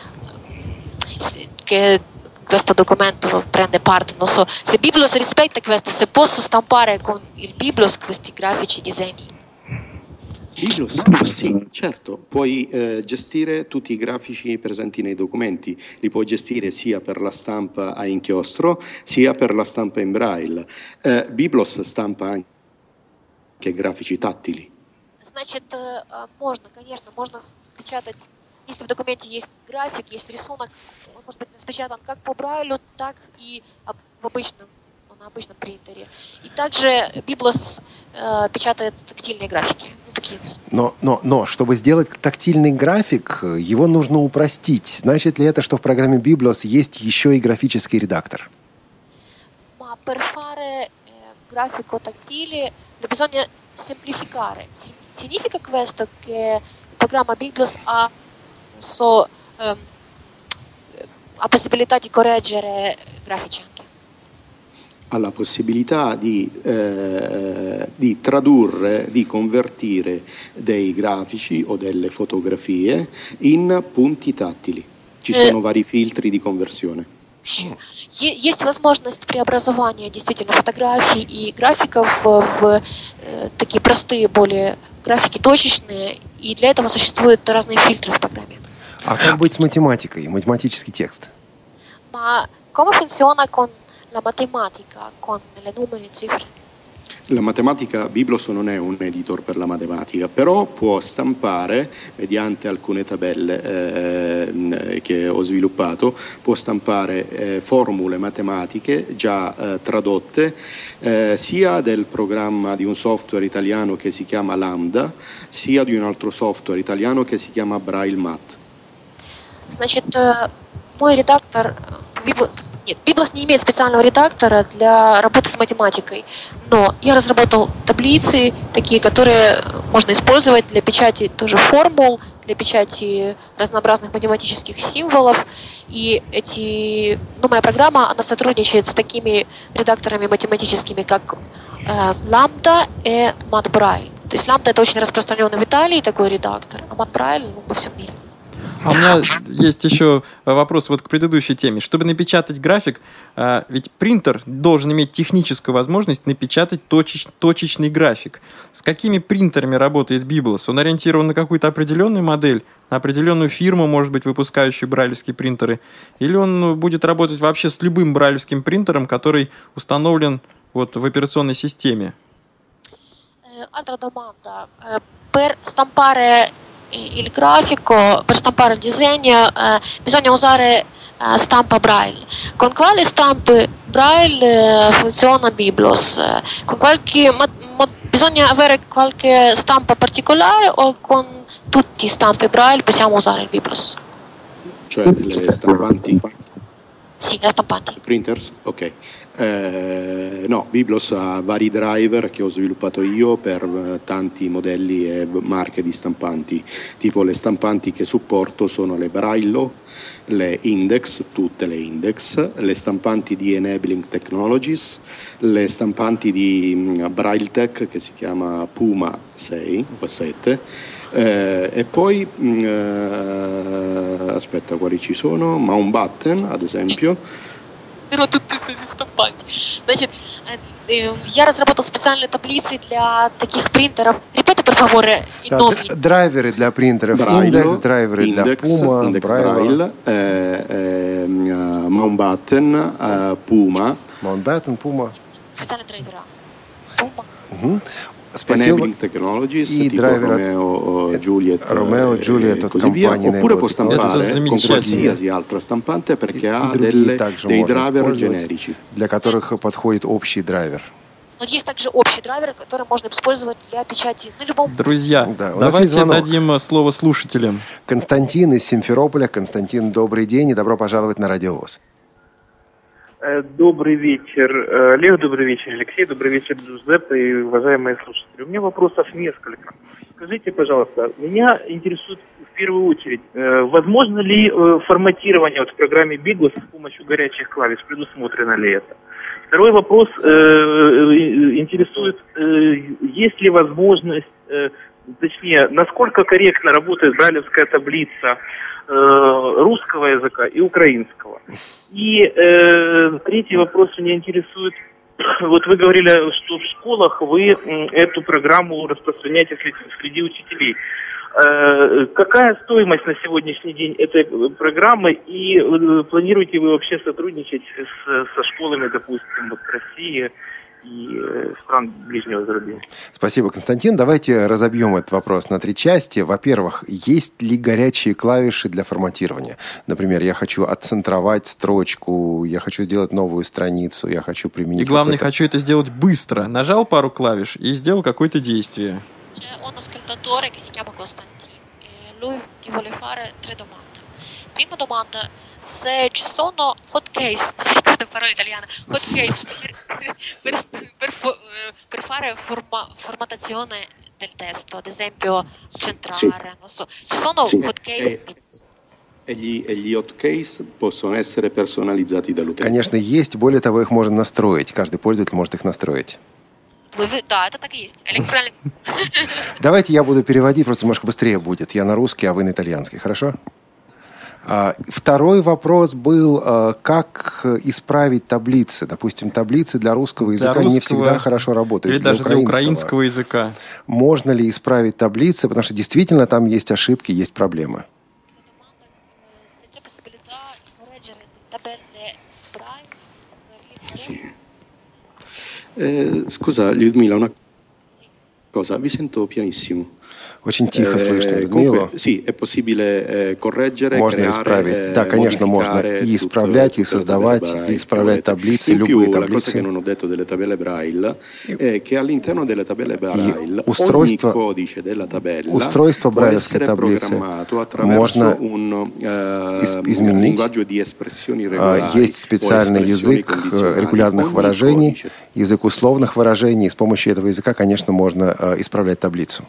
che questo documento prende parte, non so, se Biblos rispetta questo, se posso stampare con il Biblos questi grafici disegni. Biblos, sì, certo, puoi eh, gestire tutti i grafici presenti nei documenti, li puoi gestire sia per la stampa a inchiostro, sia per la stampa in braille. Eh, Biblos stampa anche grafici tattili. Значит, можно, конечно, можно печатать, если в документе есть график, есть рисунок, он может быть распечатан как по Брайлю, так и в обычном, на обычном принтере. И также Biblos э, печатает тактильные графики. Ну, такие. Но, но, но, чтобы сделать тактильный график, его нужно упростить. Значит ли это, что в программе Biblos есть еще и графический редактор? Ma per fare eh, grafico tattile bisogna semplificare. Significa questo che il programma Biblos ha, so, ehm, ha possibilità di correggere grafici anche? Ha la possibilità di, eh, di tradurre, di convertire dei grafici o delle fotografie in punti tattili. Ci sono eh. vari filtri di conversione. Есть возможность преобразования действительно фотографий и графиков в э, такие простые, более графики точечные, и для этого существуют разные фильтры в программе. А как быть с математикой, математический текст? Ma come funziona con la matematica, con le numeri e cifre? La matematica, Biblos non è un editor per la matematica, però può stampare, mediante alcune tabelle eh, che ho sviluppato, può stampare eh, formule matematiche già eh, tradotte eh, sia del programma di un software italiano che si chiama Lambda, sia di un altro software italiano che si chiama Braille Mat. Значит, мой редактор, Нет, Biblos не имеет специального редактора для работы с математикой, но я разработал таблицы, такие, которые можно использовать для печати тоже формул, для печати разнообразных математических символов. И эти, ну, моя программа, она сотрудничает с такими редакторами математическими, как э, Lambda и MatBraille. То есть Lambda — это очень распространенный в Италии такой редактор, а MatBraille, ну, во всем мире. А у меня есть еще вопрос вот к предыдущей теме. Чтобы напечатать график, ведь принтер должен иметь техническую возможность напечатать точеч, точечный график. С какими принтерами работает Biblos? Он ориентирован на какую-то определенную модель, на определенную фирму, может быть, выпускающую брайлевские принтеры? Или он будет работать вообще с любым брайлевским принтером, который установлен вот в операционной системе? Altra domanda. Per stampare il grafico, per stampare il disegno, eh, bisogna usare eh, stampa Braille. Con quale stampe Braille eh, funziona Biblos? Eh, con qualche, ma, ma bisogna avere qualche stampa particolare o con tutti i stampe Braille possiamo usare il Biblos? Cioè le stampanti? Sì, le stampanti. Printers? Ok. Eh, no, Biblos ha vari driver che ho sviluppato io per eh, tanti modelli e marche di stampanti. Tipo le stampanti che supporto sono le Braillo, le Index, tutte le Index, le stampanti di Enabling Technologies, le stampanti di um, BrailleTech che si chiama Puma sei o sette. Eh, e poi mh, eh, aspetta, quali ci sono? Mountbatten, ad esempio. Значит, я разработал специальные таблицы для таких принтеров. Ripeti, per favore, i nomi. Драйверы для принтеров. Индекс, драйверы для Puma, Index Braille, eh, eh, Mountbatten, eh, Puma. Mountbatten, Puma. Специальные драйвера. Puma. Угу. Спасибо. Enabling Technologies, и tipo драйвер Romeo Juliet, Romeo Juliet e così via. Oppure può stampare con qualsiasi и, altra stampante perché ha и delle, dei driver driver generici. Для которых подходит общий драйвер. Но есть также общий драйвер, который можно использовать для печати на любом... Друзья, да, давайте дадим слово слушателям. Константин из Симферополя. Константин, добрый день и добро пожаловать на Радио ВОС. Добрый вечер, Олег, добрый вечер, Алексей, добрый вечер, Джузеппе и уважаемые слушатели. У меня вопросов несколько. Скажите, пожалуйста, меня интересует в первую очередь, возможно ли форматирование вот в программе Biblos с помощью горячих клавиш, предусмотрено ли это? Второй вопрос интересует, есть ли возможность, точнее, насколько корректно работает брайлевская таблица русского языка и украинского. И э, третий вопрос меня интересует. Вот вы говорили, что в школах вы эту программу распространяете среди, среди учителей. Э, какая стоимость на сегодняшний день этой программы и э, планируете вы вообще сотрудничать с, со школами, допустим, вот России и стран ближнего зарубежья? Спасибо, Константин. Давайте разобьем этот вопрос на три части. Во-первых, есть ли горячие клавиши для форматирования? Например, я хочу отцентровать строчку, я хочу сделать новую страницу, я хочу применить... И главное, хочу это сделать быстро. Нажал пару клавиш и сделал какое-то действие. C'è un ascoltatore che si chiama Constantino e lui ti vuole fare tre domande. Prima domanda, se ci sono hotkeys, non ricordo la parola italiana, hotkeys per, per, per, per fare forma, formattazione del testo, ad esempio centrare, sì. Non so, ci sono sì. hotkeys? E, e, gli, e gli hotkeys possono essere personalizzati dall'utente. Конечно, есть. Более того, их можно настроить. Каждый пользователь может их настроить. Да, это так и есть. Электронный. Давайте я буду переводить, просто немножко быстрее будет. Я на русский, а вы на итальянский. Хорошо? Второй вопрос был, как исправить таблицы. Допустим, таблицы для русского языка для русского, не всегда хорошо работают. Или для даже украинского. для украинского языка. Можно ли исправить таблицы? Потому что действительно там есть ошибки, есть проблемы. Eh, scusa Людмила, una cosa, vi sento pianissimo. Очень тихо слышно, Людмила. Sì, è possibile correggere, можно исправить. Да, конечно, можно и исправлять, и создавать, и исправлять таблицы, любые таблицы. Che non ho detto delle tabelle Braille è che all'interно delle tabelle Braille устройство, ogni codice della tabella устройство брайлевской таблицы можно изменить. Есть специальный язык регулярных выражений, язык условных выражений. И с помощью этого языка, конечно, можно исправлять таблицу.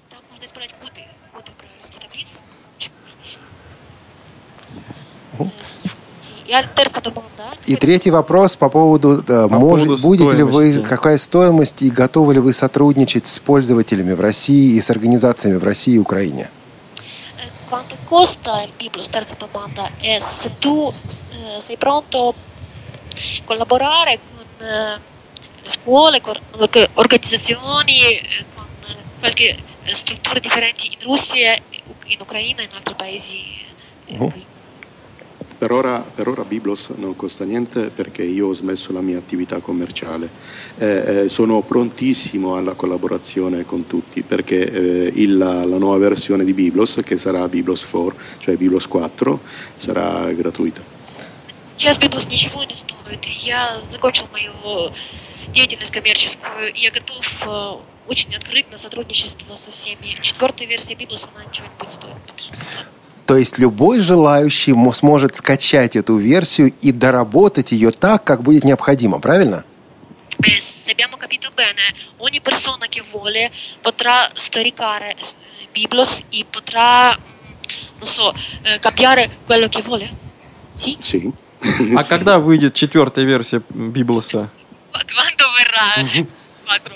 И третий вопрос по поводу, по может, поводу будете ли вы, какая стоимость и готовы ли вы сотрудничать с пользователями в России и с организациями в России и Украине? Quanto costa il Biblos? Terza domanda è se tu eh, sei pronto a collaborare con eh, le scuole, con organizzazioni, eh, con qualche strutture differenti in Russia, in Ucraina e in altri paesi. Eh, uh-huh. Per ora, per ora Biblos non costa niente perché io ho smesso la mia attività commerciale. Eh, eh, sono prontissimo alla collaborazione con tutti perché eh, il, la, la nuova versione di Biblos, che sarà Biblos quattro, cioè Biblos quattro, sarà gratuita. Сейчас Biblos ничего не стоит. Я закончил мою деятельность коммерческую. Я готов очень открыт на сотрудничество со всеми. Четвертая версия Biblos, она ничего не будет стоить. То есть любой желающий сможет скачать эту версию и доработать ее так, как будет необходимо, правильно? Se abbiamo capito bene, ogni persona che vuole potrà scaricare Biblos e potrà, non so, cambiare quello che vuole. Sì? Sì. А когда выйдет четвертая версия Библоса? Quando verrà? Quattro.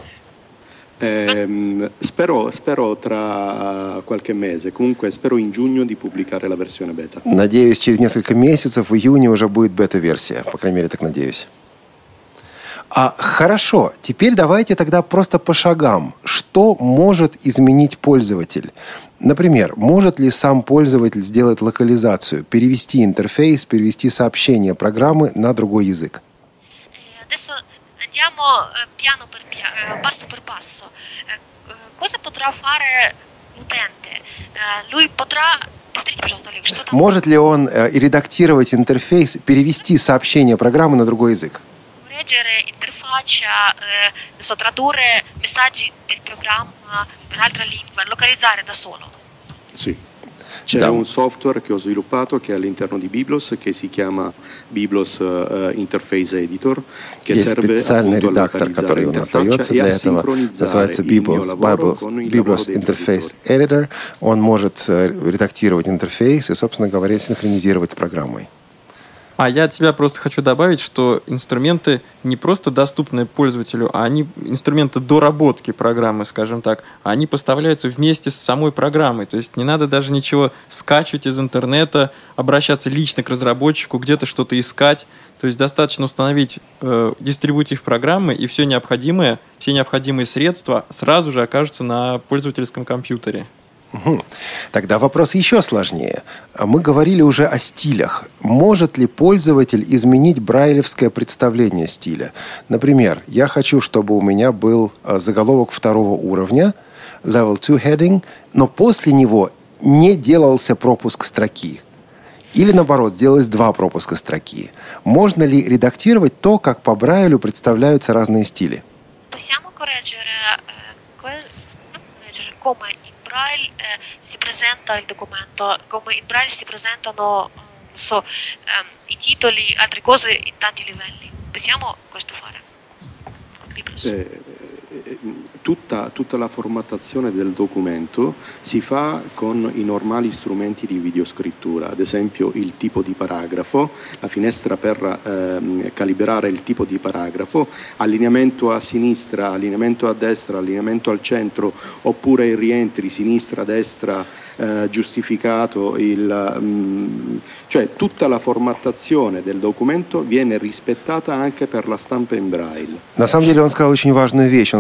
Eh, spero, spero tra qualche mese, comunque spero in giugno di pubblicare la versione beta. Надеюсь, через несколько месяцев, в июне уже будет бета-версия. По крайней мере, так надеюсь. А, хорошо, теперь давайте тогда просто по шагам. Что может изменить пользователь? Например, может ли сам пользователь сделать локализацию, перевести интерфейс, перевести сообщение программы на другой язык? Andiamo piano per piano, passo per passo. Cosa potrà fare l'utente? Lui potrà... Повторите, пожалуйста, Олег, что там? Может ли он э, редактировать интерфейс, перевести сообщение программы на другой язык? Correggere interfaccia, eh, tradurre messaggi del programma per altra lingua, localizzare da solo. Sì. C'è да. un software che ho sviluppato che è all'interno di Biblos che si chiama Biblos uh, Interface Editor, che Есть serve специальный appunto редактор, который у нас дается для этого. Называется Biblos, Biblos, Biblos Interface Editor. Он может редактировать интерфейс и, собственно говоря, синхронизировать с программой. А я от себя просто хочу добавить, что инструменты не просто доступны пользователю, а они инструменты доработки программы, скажем так, они поставляются вместе с самой программой. То есть не надо даже ничего скачивать из интернета, обращаться лично к разработчику, где-то что-то искать. То есть достаточно установить э, дистрибутив программы, и все необходимое, все необходимые средства сразу же окажутся на пользовательском компьютере. Угу. Тогда вопрос еще сложнее. Мы говорили уже о стилях. Может ли пользователь изменить брайлевское представление стиля? Например, я хочу, чтобы у меня был заголовок второго уровня, level two heading, но после него не делался пропуск строки. Или, наоборот, сделалось два пропуска строки. Можно ли редактировать то, как по Брайлю представляются разные стили? Possiamo correggere, eh, correggere come Braille eh, si presenta il documento, come in Braille si presentano non so, um, i titoli, altre cose in tanti livelli. Possiamo questo fare con Biblos? Eh, tutta, tutta la formattazione del documento si fa con i normali strumenti di videoscrittura, ad esempio il tipo di paragrafo, la finestra per ehm, calibrare il tipo di paragrafo, allineamento a sinistra, allineamento a destra, allineamento al centro, oppure i rientri sinistra-destra eh, giustificato, il, mh, cioè tutta la formattazione del documento viene rispettata anche per la stampa in Braille. На самом деле он сказал очень важную вещь. Он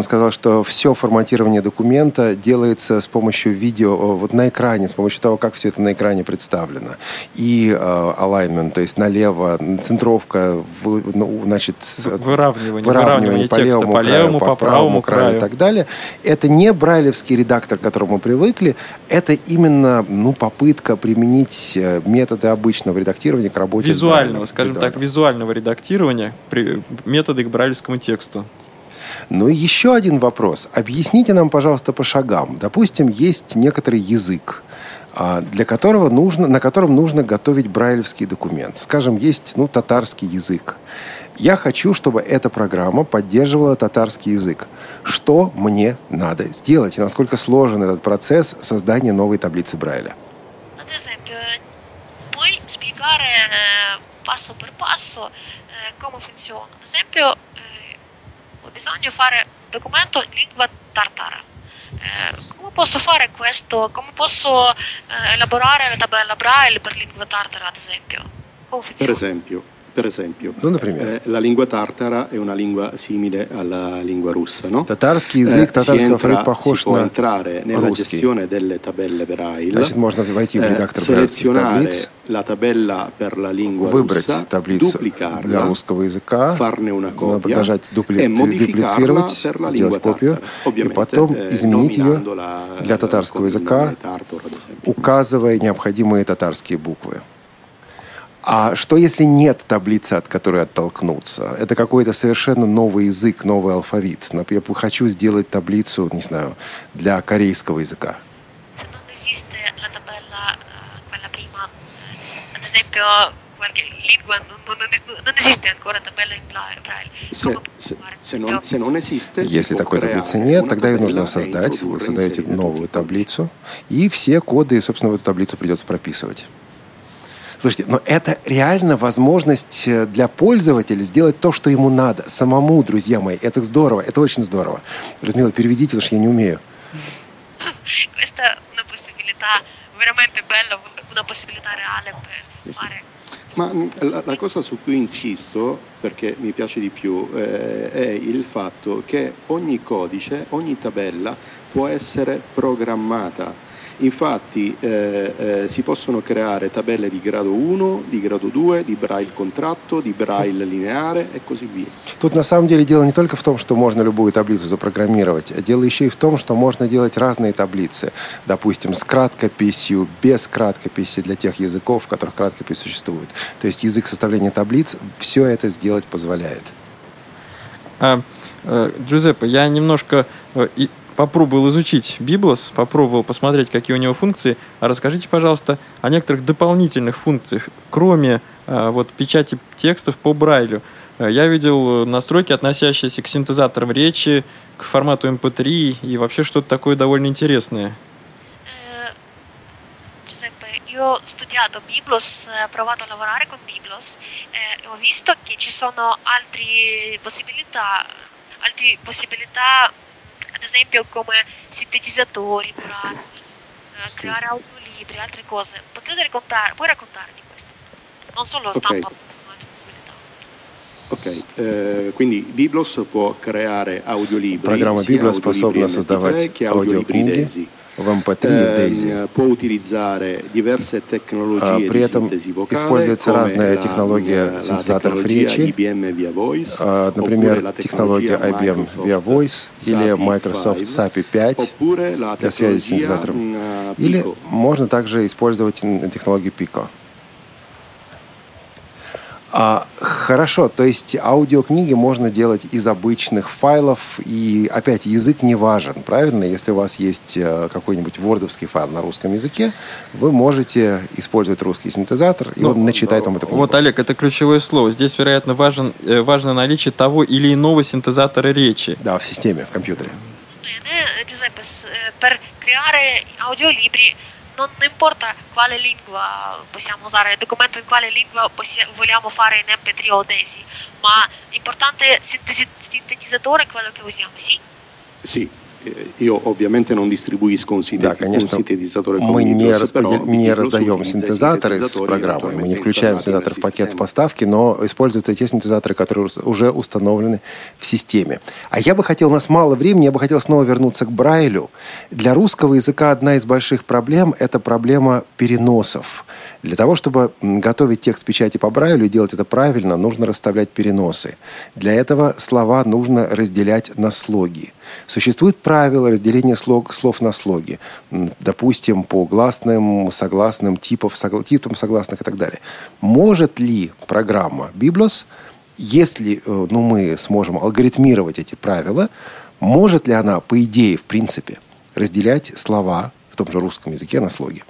он сказал, что все форматирование документа делается с помощью видео, вот на экране, с помощью того, как все это на экране представлено. И э, alignment, то есть налево, центровка, в, ну, значит, выравнивание, выравнивание по текста, левому по краю, левому, по, по правому краю, краю и так далее. Это не брайлевский редактор, к которому мы привыкли, это именно ну, попытка применить методы обычного редактирования к работе визуального, с скажем так, визуального редактирования, методы к брайлевскому тексту. Ну и еще один вопрос. Объясните нам, пожалуйста, по шагам. Допустим, есть некоторый язык, для которого нужно, на котором нужно готовить брайлевский документ. Скажем, есть ну, татарский язык. Я хочу, чтобы эта программа поддерживала татарский язык. Что мне надо сделать? И насколько сложен этот процесс создания новой таблицы Брайля? Ad esempio, puoi spiegare passo per passo come funziona? Ad esempio, ho bisogno di fare documento in lingua tartara. Come posso fare questo? Come posso elaborare la tabella Braille per lingua tartara, ad esempio? Come funziona? Per esempio. Per esempio, ну, eh, la lingua tartara è una lingua simile alla lingua russa, no? Татарский язык, татарский алфавит похож si può на entrare nella русский. gestione delle tabelle Braille, Значит, можно войти в редактор selezionare таблиц, la tabella per la lingua выбрать russa, таблицу для русского языка, farne una copia нажать дупли... e дуплицировать, modificarla per la сделать lingua копию, tartara, и потом eh, изменить ее nominandola для татарского языка, tartaro, ad esempio. указывая необходимые татарские буквы. А что, если нет таблицы, от которой оттолкнуться? Это какой-то совершенно новый язык, новый алфавит. Я хочу сделать таблицу, не знаю, для корейского языка. Если такой таблицы нет, тогда ее нужно создать. Вы создаете новую таблицу, и все коды, собственно, в эту таблицу придется прописывать. Слушайте, но это реально возможность для пользователя сделать то, что ему надо. Самому, друзья мои. Это здорово, это очень здорово. Людмила, переведите, потому что я не умею. Questa una possibilità veramente bella, una possibilità reale per fare. Ma la, la cosa su cui insisto, perché mi piace di più, eh, è il fatto che ogni codice, ogni tabella può essere programmata. Infatti eh, eh, si possono creare tabelle di grado uno, di grado due, di Braille contratto, di Braille lineare e così via. Тут на самом деле дело не только в том, что можно любую таблицу запрограммировать, а дело еще и в том, что можно делать разные таблицы. Допустим, с краткописью, без краткописи для тех языков, в которых краткопись существует. То есть язык составления таблиц все это сделать позволяет. А, э, Джузеппе, я немножко... Э, и... попробовал изучить Biblos, попробовал посмотреть, какие у него функции. А расскажите, пожалуйста, о некоторых дополнительных функциях, кроме а, вот, печати текстов по Брайлю. Я видел настройки, относящиеся к синтезаторам речи, к формату эм пэ три и вообще что-то такое довольно интересное. Giuseppe, io ho studiato Biblos, ho provato a lavorare con Biblos e ho visto che ci sono altre possibilità, altre possibilità ad esempio come sintetizzatori, braille, creare audiolibri, altre cose. Potete raccontare, puoi raccontarmi questo? Non solo stampa, okay. ma altre possibilità. Ok, eh, quindi Biblos può creare audiolibri. Программа Biblos способна создавать аудиокниги в эм пэ три и в Daisy. Può utilizzare diverse tecnologie При этом di sintesi vocale, используется разная технология синтезаторов речи, например, технология ай би эм Via Voice или Microsoft эс эй пи пять для связи с синтезатором. Или можно также использовать технологию Pico. А, хорошо, то есть аудиокниги можно делать из обычных файлов, и опять язык не важен, правильно? Если у вас есть какой-нибудь вордовский файл на русском языке, вы можете использовать русский синтезатор, и ну, он начитает вам эту книгу. Вот, Олег, это ключевое слово. Здесь, вероятно, важен, важно наличие того или иного синтезатора речи. Да, в системе, в компьютере. Giuseppe, per creare audiolibri non importa quale lingua possiamo usare, il documento in quale lingua possi- vogliamo fare in эм пэ три o Daisy, ma l'importante è il sintesi- sintetizzatore quello che usiamo, sì? Sì, io ovviamente non distribuisco un, Да, конечно, мы не, распредел... не раздаем синтезаторы с программой, мы не включаем синтезаторы в пакет поставки, но используются те синтезаторы, которые уже установлены в системе. А я бы хотел, у нас мало времени, я бы хотел снова вернуться к Брайлю. Для русского языка одна из больших проблем – это проблема переносов. Для того, чтобы готовить текст печати по Брайлю и делать это правильно, нужно расставлять переносы. Для этого слова нужно разделять на слоги. Существует правило разделения слог, слов на слоги. Допустим, по гласным, согласным, типов, согла, типам согласных и так далее. Может ли программа Biblos, если ну, мы сможем алгоритмировать эти правила, может ли она, по идее, в принципе, разделять слова в том же русском языке на слоги?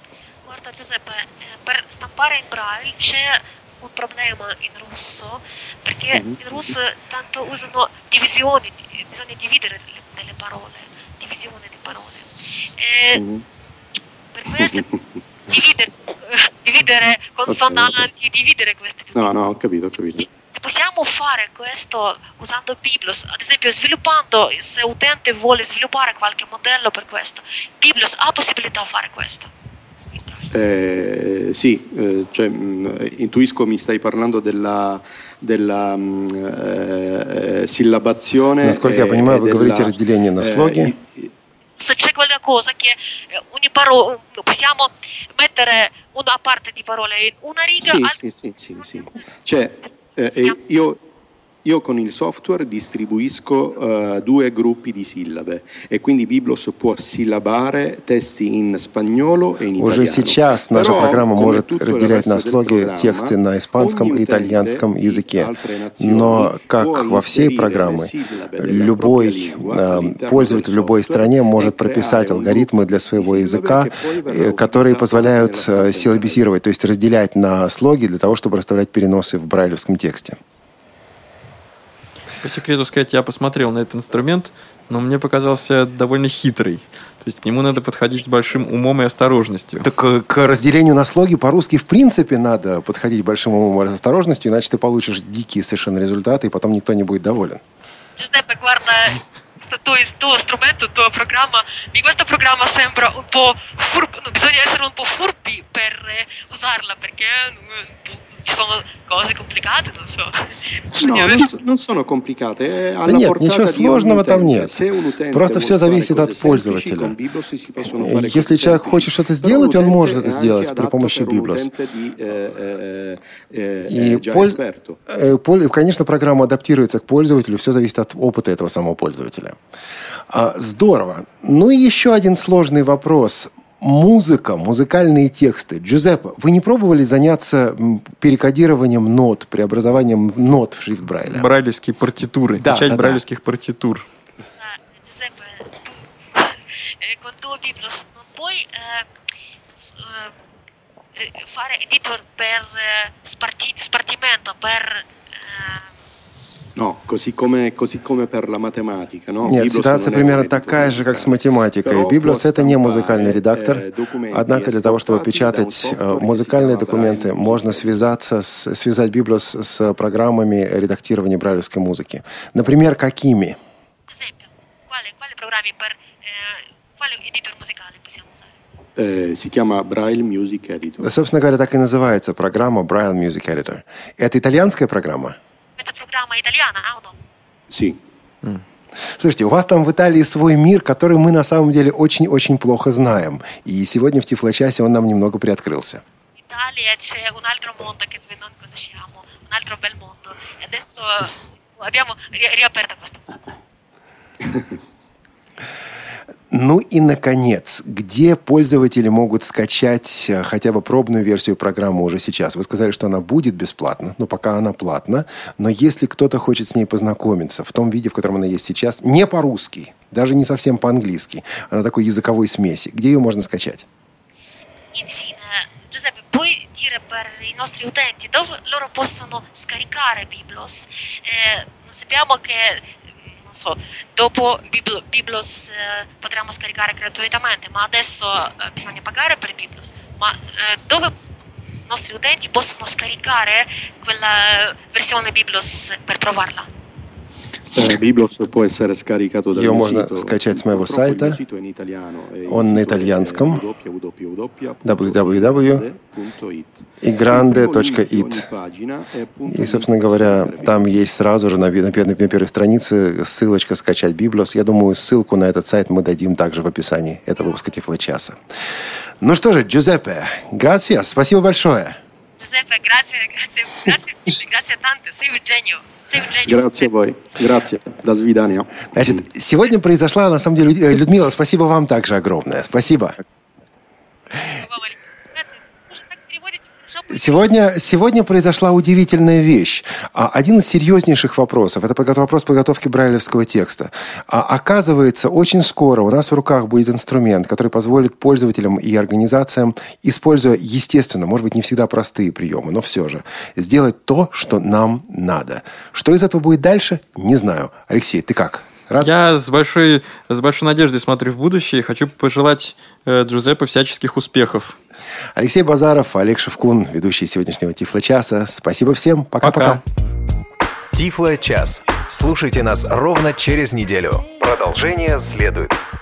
Per stampare in braille c'è un problema in russo, perché mm-hmm. in russo tanto usano divisioni, bisogna dividere delle parole, divisione di parole. E mm-hmm. Per questo dividere, dividere consonanti, okay, okay. dividere queste No, no, ho capito, ho capito. Se, se possiamo fare questo usando Biblos, ad esempio sviluppando, se l'utente vuole sviluppare qualche modello per questo, Biblos ha possibilità di fare questo. Eh, sì, eh, cioè, mh, intuisco mi stai parlando della, della mh, eh, sillabazione. Насколько я понимаю, вы говорите разделение на слоги. Se c'è qualcosa che ogni parola possiamo mettere una parte di parole in una riga. Sì, al... sì, sì, sì, sì. Cioè, eh, io Io con il software distribuisco uh, due gruppi di sillabe e quindi Biblos può sillabare testi in spagnolo e in italiano. Уже сейчас наша программа может разделять на слоги тексты на испанском и итальянском языке. Но, как во всей программе, любой э, пользователь в любой стране может прописать алгоритмы для своего языка, э, которые позволяют э, силлабизировать, то есть разделять на слоги для того, чтобы расставлять переносы в брайлевском тексте. По секрету сказать, я посмотрел на этот инструмент, но мне показался довольно хитрый. То есть к нему надо подходить с большим умом и осторожностью. Так к разделению на слоги по-русски в принципе надо подходить большим умом и осторожностью, иначе ты получишь дикие совершенно результаты, и потом никто не будет доволен. Giuseppe, guarda, tuo, tuo strumento, tua programma, questa programma sembra un po' furbi, no, bisogna essere un po' furbi per usarla, perché ci sono cose complicate, non so. No, non, non sono complicate. Да нет, ничего сложного там нет. Просто все зависит от пользователя. Если человек хочет что-то сделать, он может это сделать при помощи Biblos. И, конечно, программа адаптируется к пользователю, все зависит от опыта этого самого пользователя. Здорово. Ну и еще один сложный вопрос. Музыка, музыкальные тексты. Джузеппе, вы не пробовали заняться перекодированием нот, преобразованием нот в шрифт Брайля? Брайлевские партитуры, да, печать да, брайлевских да. партитур. Giuseppe, tu con tuo Biblos non puoi fare editor per spartimento, per No, così come, così come per la matematica, no? Нет, ситуация примерно такая же, как с математикой. Biblos — это не музыкальный редактор, однако для того, чтобы печатать музыкальные документы, можно связаться с, связать Biblos с программами редактирования брайлевской музыки. Например, какими? Eh, si chiama Braille Music Editor. Собственно говоря, так и называется программа Braille Music Editor. Это итальянская программа? Questa programma italiana, no? Sì. Mm. Слушайте, у вас там в Италии свой мир, который мы на самом деле очень-очень плохо знаем. И сегодня в Тифлочасе он нам немного приоткрылся. В Италии c'è un altro mondo che noi non conosciamo, un altro bel mondo. E adesso abbiamo riaperto questo mondo. Ну и, наконец, где пользователи могут скачать хотя бы пробную версию программы уже сейчас? Вы сказали, что она будет бесплатна, но пока она платна. Но если кто-то хочет с ней познакомиться в том виде, в котором она есть сейчас, не по-русски, даже не совсем по-английски, а на такой языковой смеси, где ее можно скачать? Infine, Giuseppe, puoi dire per i nostri utenti dove loro possono scaricare Biblos? Eh, sappiamo che So, dopo Biblos eh, potremo scaricare gratuitamente, ma adesso eh, bisogna pagare per Biblos. Ma eh, dove i nostri utenti possono scaricare quella versione Biblos per provarla? Biblos può essere scaricato dal Ее mio можно sito. скачать с моего Purtroppo il сайта. mio sito è in italiano e il Он на sito è итальянском. w w w дабл ю дабл ю дабл ю punto it. игранде точка ит. И, собственно говоря, там есть сразу же на, на, первой, на первой странице ссылочка «Скачать Библиос». Я думаю, ссылку на этот сайт мы дадим также в описании этого выпуска Тифлочаса. Ну что же, Джузеппе, грация, спасибо большое. Giuseppe, grazie, grazie, grazie mille, grazie tante, sei un genio. Grazie a voi. Grazie. До свидания. Значит, сегодня произошла, на самом деле, Людмила, спасибо вам также огромное. Спасибо. Сегодня, сегодня произошла удивительная вещь. Один из серьезнейших вопросов – это вопрос подготовки брайлевского текста. А оказывается, очень скоро у нас в руках будет инструмент, который позволит пользователям и организациям, используя, естественно, может быть, не всегда простые приемы, но все же, сделать то, что нам надо. Что из этого будет дальше, не знаю. Алексей, ты как? Рад? Я с большой, с большой надеждой смотрю в будущее и хочу пожелать э, Джузеппе всяческих успехов. Алексей Базаров, Олег Шевкун, ведущие сегодняшнего Тифло-часа. Спасибо всем. Пока-пока. Тифло-час. Слушайте нас ровно через неделю. Продолжение следует.